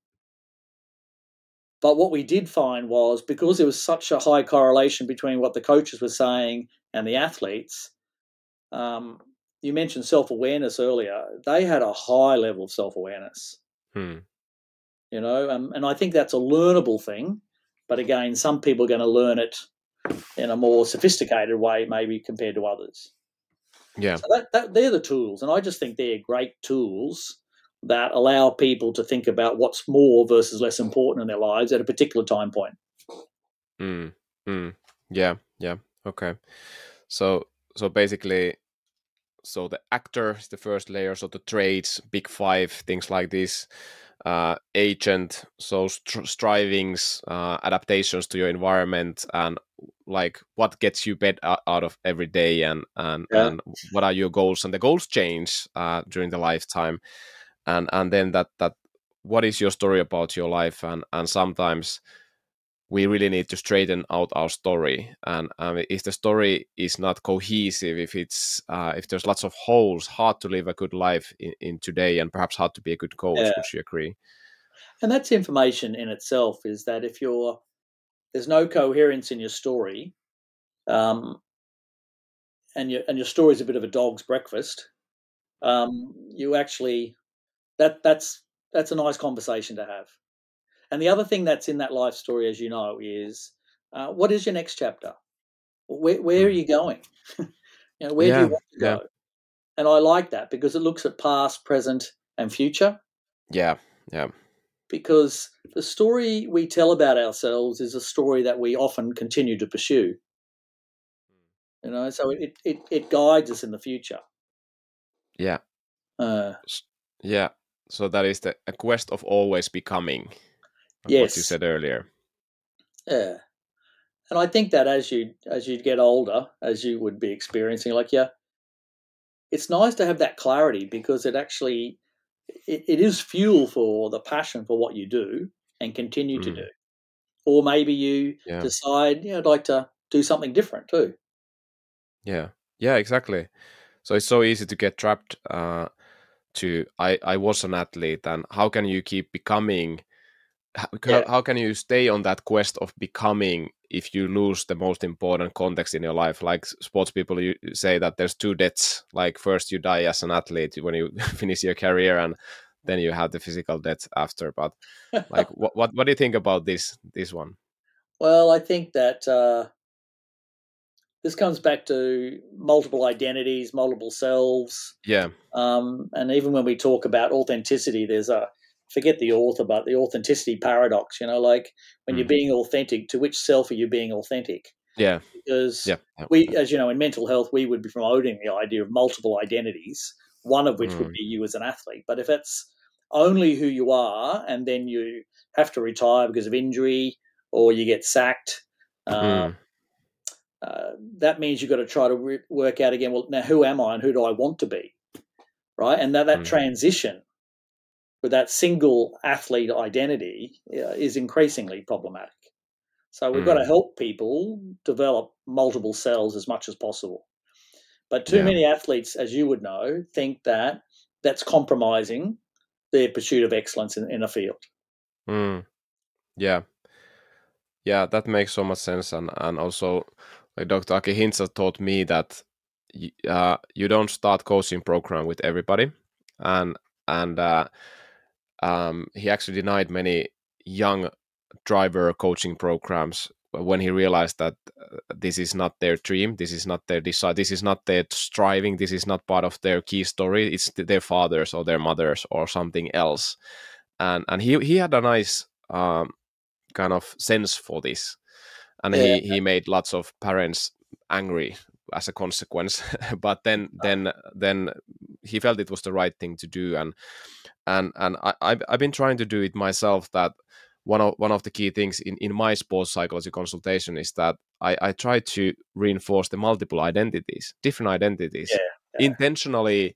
but what we did find was because there was such a high correlation between what the coaches were saying and the athletes, um, you mentioned self-awareness earlier, they had a high level of self-awareness. Hmm. You know, um, and I think that's a learnable thing. But again, some people are going to learn it in a more sophisticated way, maybe compared to others. Yeah. So that, that, they're the tools. And I just think they're great tools that allow people to think about what's more versus less important in their lives at a particular time point. Mm. Mm. Yeah. Yeah. Okay. So, so basically, so the actor is the first layer, so the traits, big five, things like this, uh, agent, so str- strivings, uh, adaptations to your environment, and like what gets you bed out of every day, and and Yeah. and what are your goals, and the goals change uh, during the lifetime, and and then that that what is your story about your life, and and sometimes we really need to straighten out our story, and um, if the story is not cohesive, if it's uh, if there's lots of holes, hard to live a good life in, in today, and perhaps hard to be a good coach. Yeah. Would you agree? And that's information in itself, is that if you're there's no coherence in your story, um, and your and your story is a bit of a dog's breakfast, um, you actually that that's that's a nice conversation to have. And the other thing that's in that life story, as you know, is uh, what is your next chapter? Where, where are you going? you know, where Yeah, do you want to yeah, go? And I like that because it looks at past, present, and future. yeah, yeah. Because the story we tell about ourselves is a story that we often continue to pursue. You know, so it it, it guides us in the future. Yeah, Uh, yeah. So that is the a quest of always becoming, like what you yes. said earlier. Yeah. And I think that as you as you get older, as you would be experiencing, like yeah, it's nice to have that clarity because it actually it, it is fuel for the passion for what you do and continue mm. to do. Or maybe you yeah. decide, you know, I'd like to do something different too. Yeah, yeah, exactly. So it's so easy to get trapped uh, to I I was an athlete, and how can you keep becoming? How, yeah. how can you stay on that quest of becoming if you lose the most important context in your life? Like sports people, you say that there's two deaths. Like first you die as an athlete when you finish your career, and then you have the physical death after. But like, what, what what do you think about this this one? Well, I think that uh, this comes back to multiple identities, multiple selves. Yeah. Um, and even when we talk about authenticity, there's a forget the author, but the authenticity paradox. You know, like when mm. you're being authentic, to which self are you being authentic? Yeah. Because yeah. yeah. we, as you know, in mental health, we would be promoting the idea of multiple identities, one of which mm. would be you as an athlete. But if it's only who you are, and then you have to retire because of injury or you get sacked, uh, mm. uh, that means you've got to try to re- work out again, well, now who am I and who do I want to be? Right? And that, that mm. transition with that single athlete identity uh, is increasingly problematic. So we've mm. got to help people develop multiple cells as much as possible. But too yeah. many athletes, as you would know, think that that's compromising their pursuit of excellence in, in a field. Mm. Yeah. Yeah, that makes so much sense. And, and also, like Doctor Aki Hintsa taught me that uh, you don't start coaching program with everybody. And, and uh, um, he actually denied many young driver coaching programs when he realized that uh, this is not their dream, this is not their desire, this is not their striving, this is not part of their key story. It's their fathers or their mothers or something else. And and he he had a nice um, kind of sense for this, and yeah. he he made lots of parents angry as a consequence. But then then then he felt it was the right thing to do, and and and I I've, I've been trying to do it myself. That one of one of the key things in, in my sports psychology consultation is that I, I try to reinforce the multiple identities, different identities, yeah, yeah. intentionally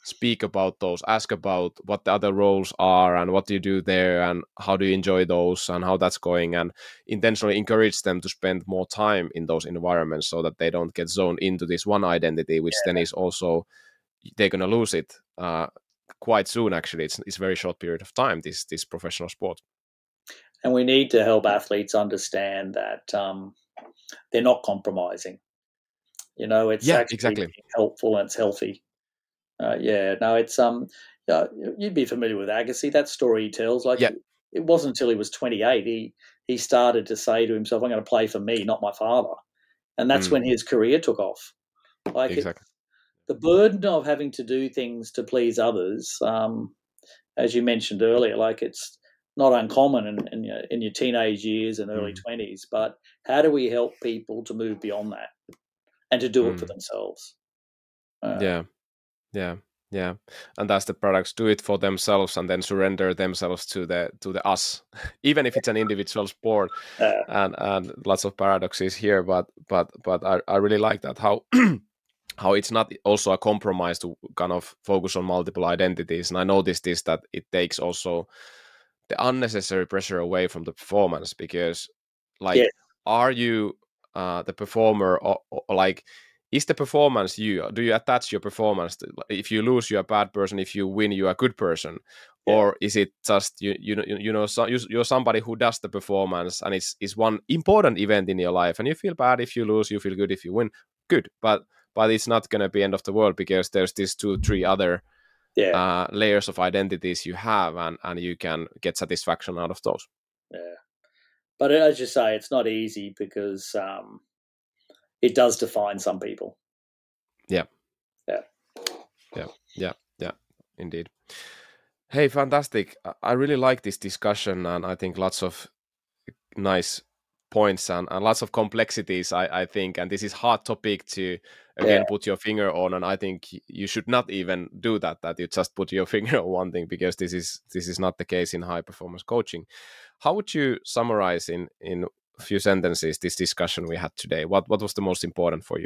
speak about those, ask about what the other roles are and what do you do there and how do you enjoy those and how that's going, and intentionally encourage them to spend more time in those environments so that they don't get zoned into this one identity, which then is also they're going to lose it uh, quite soon. Actually, it's it's a very short period of time, this this professional sport. And we need to help athletes understand that um, they're not compromising. You know, it's Yeah, actually exactly. helpful and it's healthy. Uh, yeah, no, it's um, yeah, you'd be familiar with Agassi. That story he tells, like, Yeah. it wasn't until he was twenty-eight he he started to say to himself, "I'm going to play for me, not my father," and that's Mm, when his career took off. Like, it's exactly. the burden of having to do things to please others. Um, as you mentioned earlier, like, it's not uncommon in, in your in your teenage years and early Mm, twenties. But how do we help people to move beyond that and to do it for mm. themselves? Uh, Yeah. Yeah, yeah, and as the products do it for themselves and then surrender themselves to the to the us, even if it's an individual sport, uh, and and lots of paradoxes here, but but but I, I really like that how how it's not also a compromise to kind of focus on multiple identities, and I noticed this that it takes also the unnecessary pressure away from the performance because yeah, like are you uh the performer or, or like is the performance you do you attach your performance to, if you lose you're a bad person, if you win you're a good person, yeah, or is it just you you know you, you know so, you're somebody who does the performance and it's is one important event in your life and you feel bad if you lose, you feel good if you win, good, but but it's not going to be end of the world because there's these two three other yeah, uh, layers of identities you have, and and you can get satisfaction out of those. yeah. But as you say, it's not easy because um, it does define some people. Yeah, Yeah, yeah, yeah, yeah, indeed. Hey, fantastic. I I really like this discussion, and I think lots of nice points and, and lots of complexities, I, I think. And this is hard topic to, yeah. again, put your finger on. And I think you should not even do that, that you just put your finger on one thing, because this is this is not the case in high performance coaching. How would you summarize in, in a few sentences this discussion we had today? What, what was the most important for you?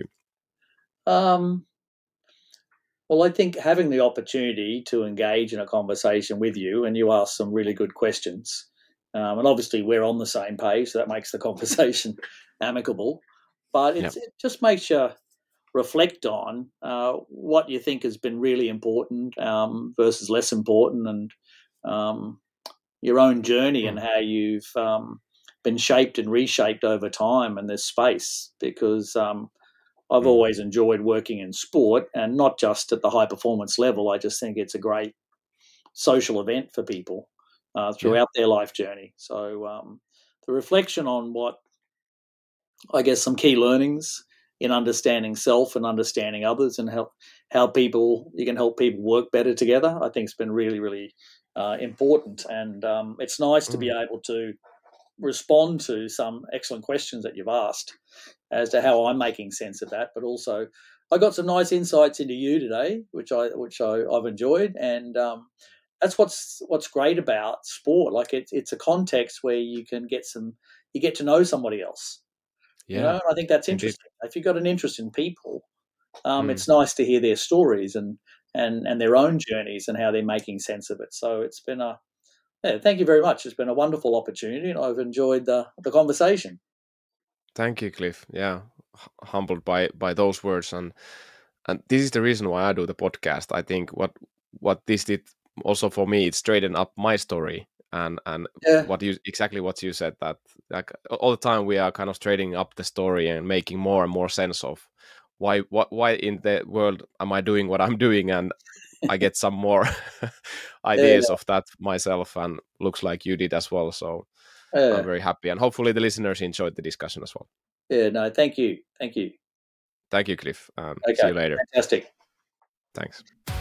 Um, well, I think having the opportunity to engage in a conversation with you, and you asked some really good questions, um, and obviously we're on the same page, so that makes the conversation amicable. But Yeah. it's, it just makes you reflect on uh, what you think has been really important um, versus less important, and um, your own journey and Mm. how you've um, been shaped and reshaped over time in this space. Because um, I've Mm. always enjoyed working in sport, and not just at the high performance level. I just think it's a great social event for people uh, Yeah. throughout their life journey. So um, the reflection on what I guess some key learnings in understanding self and understanding others, and how how people you can help people work better together. I think it's been really really uh, important, and um, it's nice to be Mm. able to respond to some excellent questions that you've asked as to how I'm making sense of that. But also, I got some nice insights into you today, which I which I, I've enjoyed, and um, that's what's what's great about sport. Like it's it's a context where you can get some you get to know somebody else. You know, Yeah, and I think that's indeed. interesting. If you've got an interest in people, um, Mm. it's nice to hear their stories and and and their own journeys and how they're making sense of it. So it's been a yeah, thank you very much. It's been a wonderful opportunity, and I've enjoyed the the conversation. Thank you, Cliff. Yeah, h- humbled by by those words, and and this is the reason why I do the podcast. I think what what this did also for me, it straightened up my story, and and Yeah, what you exactly what you said, that like all the time we are kind of straightening up the story and making more and more sense of why what why in the world am I doing what I'm doing, and I get some more yeah, ideas of that myself, and looks like you did as well. So I'm yeah, very happy, and hopefully the listeners enjoyed the discussion as well. yeah. No, thank you, thank you. Thank you, Cliff. Um, see Okay, you later. fantastic. Thanks.